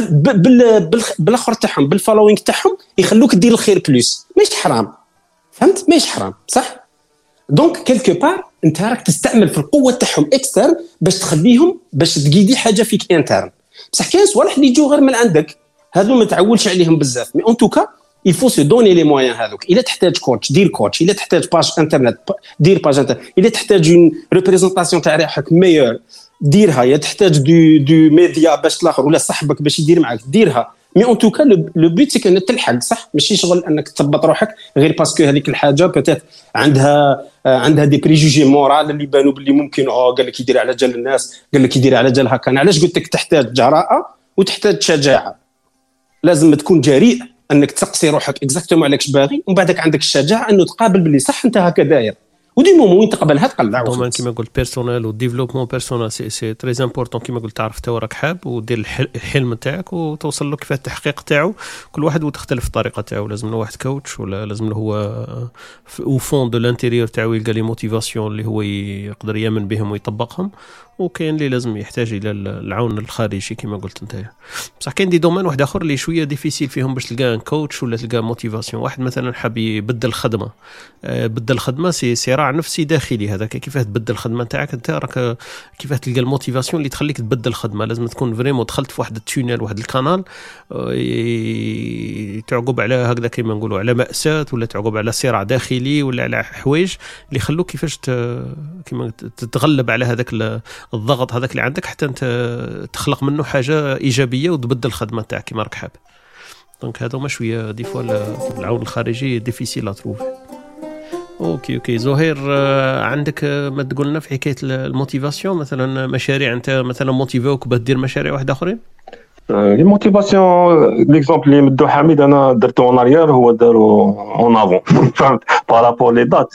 Speaker 2: بالاخر تاعهم بالفالوينغ تاعهم يخلوك دير الخير بلوس ماشي حرام فهمت ماشي حرام صح دونك كيلكو بار انت راك تستعمل في القوه تاعهم اكسترن باش تخليهم باش تقيدي حاجه فيك انترن بصح كاين صوالح اللي يجوا غير من عندك هذو ما تعولش عليهم بزاف مي ان توكا il faut se donner les moyens هذوك الا تحتاج كوتش دير كوتش الا تحتاج باج انترنت دير باج انترنت الا تحتاج اون ريبريزونطاسيون تاع روحك ميور ديرها يا تحتاج دو ميديا باش الاخر ولا صاحبك باش يدير معك ديرها مي ان توكا لو بوت سي انك تلحق صح ماشي شغل انك تثبط روحك غير باسكو هذيك الحاجه بوتيت عندها دي بريجوجي مورال اللي بانوا باللي ممكن قال لك يدير على جال الناس قال لك يدير على جال هكا علاش قلت لك تحتاج جراءه وتحتاج شجاعه لازم تكون جريء انك تسقسي روحك اكزاكتومون عليكش باغي ومن بعدك عندك الشجاعه انه تقابل باللي صح انت هكا داير ودي مومون وين تقبلها تقلع
Speaker 1: دوما كيما قلت بيرسونيل وديفلوبمون بيرسونيل سي تري امبورطون كيما قلت تعرف انت راك حاب ودير الحلم تاعك وتوصل له كيف التحقيق تاعو كل واحد وتختلف الطريقه تاعو لازم له واحد كوتش ولا لازم له هو او فون دو لانتيريور تاعو يلقى لي موتيفاسيون اللي هو يقدر يامن بهم ويطبقهم وكاين اللي لازم يحتاج الى العون الخارجي كما قلت انت بصح كاين دي دومين واحد اخر اللي شويه ديفيسيل فيهم باش تلقى ان كوتش ولا تلقى موتيفاسيون واحد مثلا حاب يبدل الخدمه بدل الخدمه سي صراع نفسي داخلي هذاك كيفاه تبدل الخدمه تاعك انت راك كيفاه تلقى الموتيفاسيون اللي تخليك تبدل الخدمه لازم تكون فريمون دخلت في واحد التونيل واحد القنال تعقب على هكذا كيما نقولوا على مأساة ولا تعقب على صراع داخلي ولا على حوايج اللي يخلوك كيفاش كيما تتغلب على هذاك الضغط هذاك اللي عندك حتى انت تخلق منه حاجه ايجابيه وتبدل الخدمه تاعك كما راك حاب دونك هذا ما شويه دي فوا العون الخارجي ديفيسيل اتروف اوكي زهير عندك ما تقول لنا في حكايه الموتيفاسيون مثلا مشاريع انت مثلا موتيفوك باش دير مشاريع واحده اخرين
Speaker 3: لي موتيفاسيون ليكزامبل اللي مدو حميد انا درته اون اريير هو دارو اون افون فهمت بارابور لي دات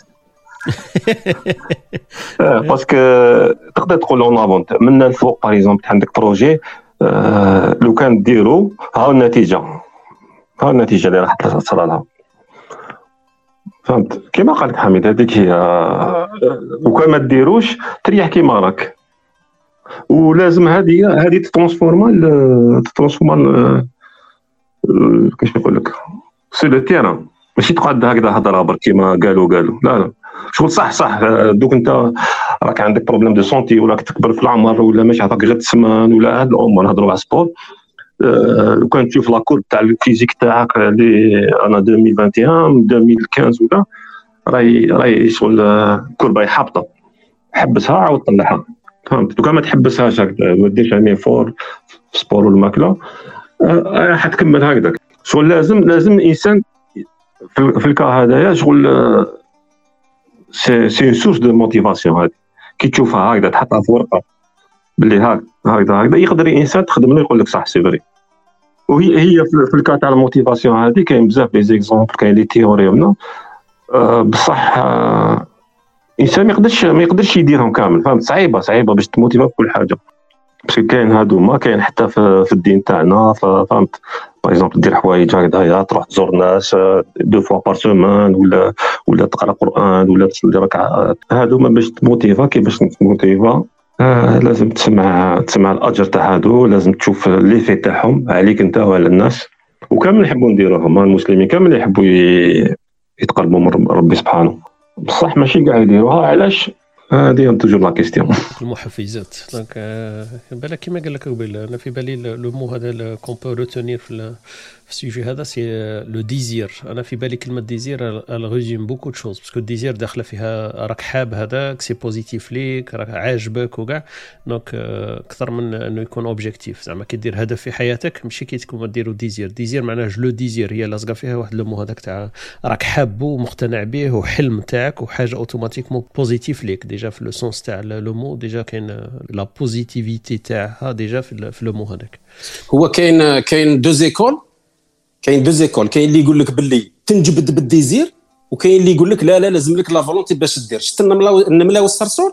Speaker 3: باسكو تقدر تقول اون افون من الفوق باغ اكزومبل عندك بروجي لو كان ديرو ها النتيجه اللي راح تصل لها فهمت كيما قالت حميد هذيك هي وكان ما ديروش تريح كيما راك ولازم هذه تترانسفورما كيفاش نقول لك سي لو تيران ماشي تقعد هكذا هضره برك كيما قالوا لا شغل صح دوك انت راك عندك بروبليم دو سونتي ولا تكبر في العمر ولا ماشي عطاك غير تسمن ولا هاد الامور نهضروا على السبور لو كان تشوف لاكور تاع الفيزيك تاعك اللي انا 2021 2015 ولا راهي شغل كوربا حابطه حبسها عاود طلعها فهمت لو كان ما تحبسهاش هكذا ما ديرش يعني فور سبور والماكله حتكمل هكذاك شغل لازم الانسان في الكا هذايا شغل سي سورس دو موتيفاسيون هذه كي تشوفها هكذا تحطها في ورقه باللي هكذا يقدر الانسان تخدم له يقول لك صح سي فري وهي في الكا تاع الموتيفاسيون هذه كاين بزاف لي زيكزامبل كاين لي تيوري ولا بصح الانسان ما يقدرش يديرهم كامل فهمت صعيبه باش تموتيفا في كل حاجه باسكو كاين هادو ما كاين حتى في الدين تاعنا فهمت باغ اكزومبل دير حوايج هكذايا تروح تزور ناس 2 فوا بار سيمين ولا تقرا قران ولا تصلي ركعات هادو ما باش تموتيفا كيفاش تموتيفا لازم تسمع الاجر تاع هادو لازم تشوف ليفي تاعهم عليك انت وعلى الناس وكامل يحبوا نديروهم المسلمين كامل يحبوا يتقربوا من ربي سبحانه بصح ماشي كاع يديروها علاش هذه توجور لا كيستيون.
Speaker 1: المحفزات دونك بالك كيما قال لك قبيل انا في بالي لو مو هذا كون بو روتونير في السوجي هذا سي لو ديزير. انا في بالي كلمه ديزير ريزوم بوكو دو شوز باسكو ديزير داخله فيها راك حاب هذاك سي بوزيتيف ليك راك عاجبك وكاع دونك اكثر من انه يكون اوبجيكتيف. زعما كي دير هدف في حياتك ماشي كي تكون ديرو ديزير معناه جو ديزير هي لاصقه فيها واحد لو مو هذاك تاع راك حابه ومقتنع به وحلم تاعك وحاجه اوتوماتيكمون بوزيتيف ليك. ديجا في لو سونس تاع لو مو ديجا كاين لا بوزيتيفيتي تاعها ديجا في لو مو هذاك.
Speaker 2: هو كاين دو زيكول كاين اللي يقول لك باللي تنجبد بالديزير وكاين اللي يقول لك لا لازم لك لا فولونتي باش دير. شفت النمله والصرصور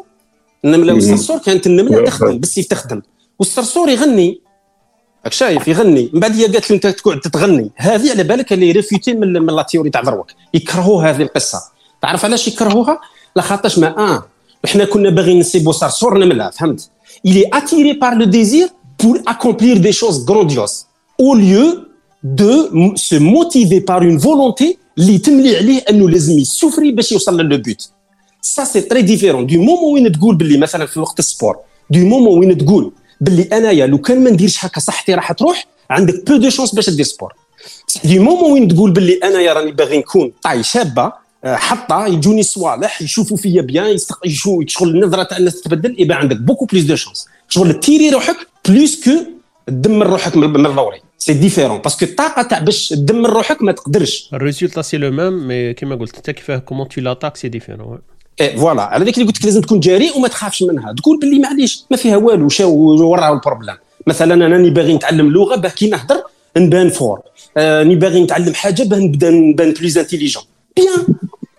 Speaker 2: كانت النمله تخدم بالسيف تخدم والصرصور يغني راك شايف يغني من بعد هي قالت له انت تقعد تغني. هذه على بالك اللي ريفيتي من لا تيوري تاع دروك يكرهوا هذه القصه. تعرف علاش يكرهوها؟ لخاطرش ما احنا كنا باغيين نسيبو صرصور نمله فهمت. il est attiré par le désir pour accomplir des choses grandioses au lieu de se motiver par une volonté اللي تملي عليه انه لازم يسوفري باش يوصل للبوت. ça c'est très différent du moment وين تقول باللي مثلا في وقت السبور du moment وين تقول باللي انايا لو كان ما نديرش هكا صحتي راح تروح عندك بو دو شانس باش دير سبور. du moment وين تقول باللي انايا راني باغي نكون طاي شابه حتى يجوني صوالح يشوفوا فيا بيان يشغل النظره تاع الناس تتبدل يبقى عندك بوكو بليس دو شانس شغل تيري روحك بليس كو تدمر روحك من الضوري. سي ديفيرون باسكو الطاقه تاع باش تدمر روحك ما تقدرش.
Speaker 1: الريزولتا سي لو ميم مي كيما قلت انت كيفاه كومون تو لاتاك سي ديفيرون.
Speaker 2: فوالا على ذاك اللي قلت لك لازم تكون جريء وما تخافش منها. تقول باللي معليش ما فيها والو وراه البروبليم. مثلا انا راني باغي نتعلم لغه باه كي نهضر نبان فور. راني باغي نتعلم حاجه باه نبان بليز انتيليجون بيان.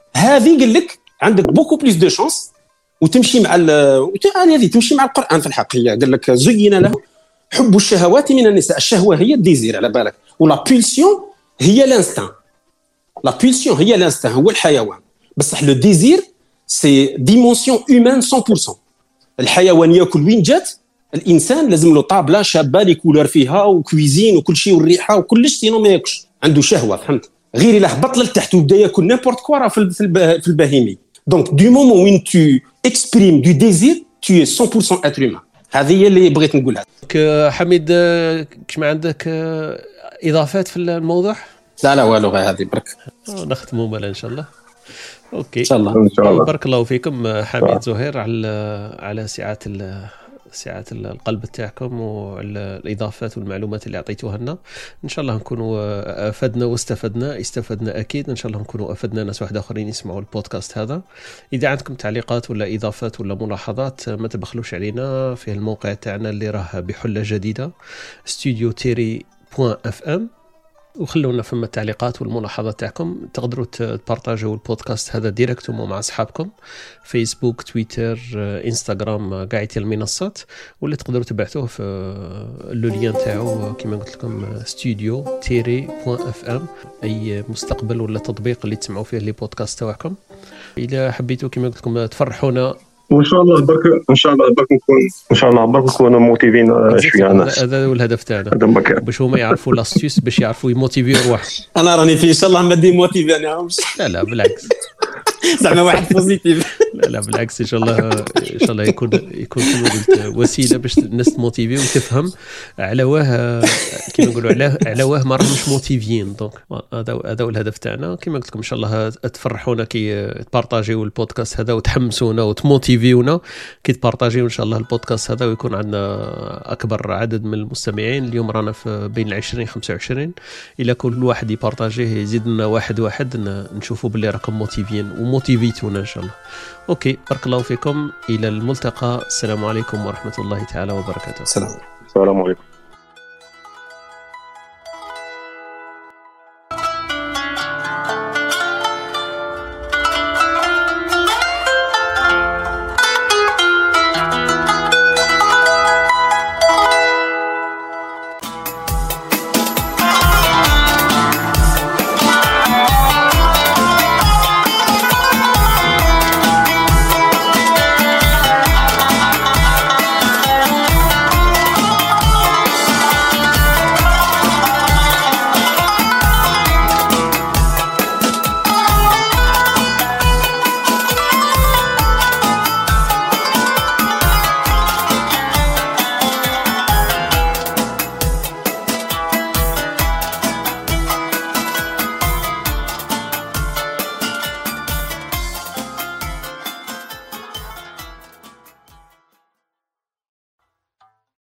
Speaker 2: هذه قال لك عندك بوكو بليس دو شانس وتمشي مع هذه تمشي مع القران في الحقيقه. قال لك زين له حب الشهوات من النساء. الشهوه هي الديزير على بالك ولا بولسيون هي الانستان. لا بولسيون هي الانستان هو الحيوان بصح لو ديزير سي ديمونسيون هيومان 100%. الحيوان ياكل وين جات الانسان لازم له طابله شابه لي كولور فيها وكويزين وكل شيء والريحه وكلش سينو ما ياكلش عنده شهوه فهمت. غير الا هبط لتحت وبدا ياكل نيمبورت كوا في البهيمي. دونك دو مومون وين تو اكسبريم دو ديزير تو 100% اتر هيومان. هذه هي اللي بغيت نقولها.
Speaker 1: حميد كش ما عندك اضافات في الموضوع؟
Speaker 2: لا والو غير هذه برك
Speaker 1: نختموا مالا ان شاء الله. اوكي
Speaker 2: ان شاء الله
Speaker 1: بارك الله فيكم حميد زهير على سعة القلب تاعكم والاضافات والمعلومات اللي اعطيتوها لنا. ان شاء الله نكونوا افدنا واستفدنا اكيد. ان شاء الله نكونوا افدنا ناس واحد اخرين يسمعوا البودكاست هذا. اذا عندكم تعليقات ولا اضافات ولا ملاحظات ما تبخلوش علينا في الموقع تاعنا اللي راه بحلة جديدة studio-terry.fm وخلونا فما التعليقات والملاحظات تاعكم. تقدروا تبارطاجوا البودكاست هذا ديريكتومون مع اصحابكم فيسبوك تويتر انستغرام قاعدة المنصات ولا تقدروا تبعثوه في لو لين تاعو كما قلت لكم studio-terry.fm اي مستقبل ولا تطبيق اللي تسمعوا فيه لي بودكاست تاعكم. اذا حبيتوا كما قلت لكم تفرحونا
Speaker 3: وان شاء الله برك نكونوا موتيفين شويه الناس.
Speaker 1: هذا هو الهدف تاعنا باش هما يعرفوا لاستيوس باش يعرفوا يموتيفيو روحهم.
Speaker 2: انا راني في ان شاء الله ما دي موتيفينيهمش.
Speaker 1: لا بالعكس
Speaker 2: زعما واحد بوزيتيف.
Speaker 1: لا بالعكس ان شاء الله يكون كما قلت وسيله باش الناس تموتيفي وتفهم على واه كما نقولوا على واه ما راهمش موتيفيين. دونك هذا هو الهدف تاعنا. كما قلت لكم ان شاء الله تفرحونا كي تبارطاجيو البودكاست هذا وتحمسونا وتموتيفيونا كي تبارطاجيو ان شاء الله البودكاست هذا ويكون عندنا اكبر عدد من المستمعين. اليوم رانا في بين 20-25. الى كل واحد يبارطاجيه يزيد لنا واحد نشوفوا باللي راكم موتيفيين وموتيفيتونا ان شاء الله. اوكي بارك الله فيكم الى الملتقى. السلام عليكم ورحمة الله تعالى وبركاته.
Speaker 2: السلام
Speaker 3: عليكم.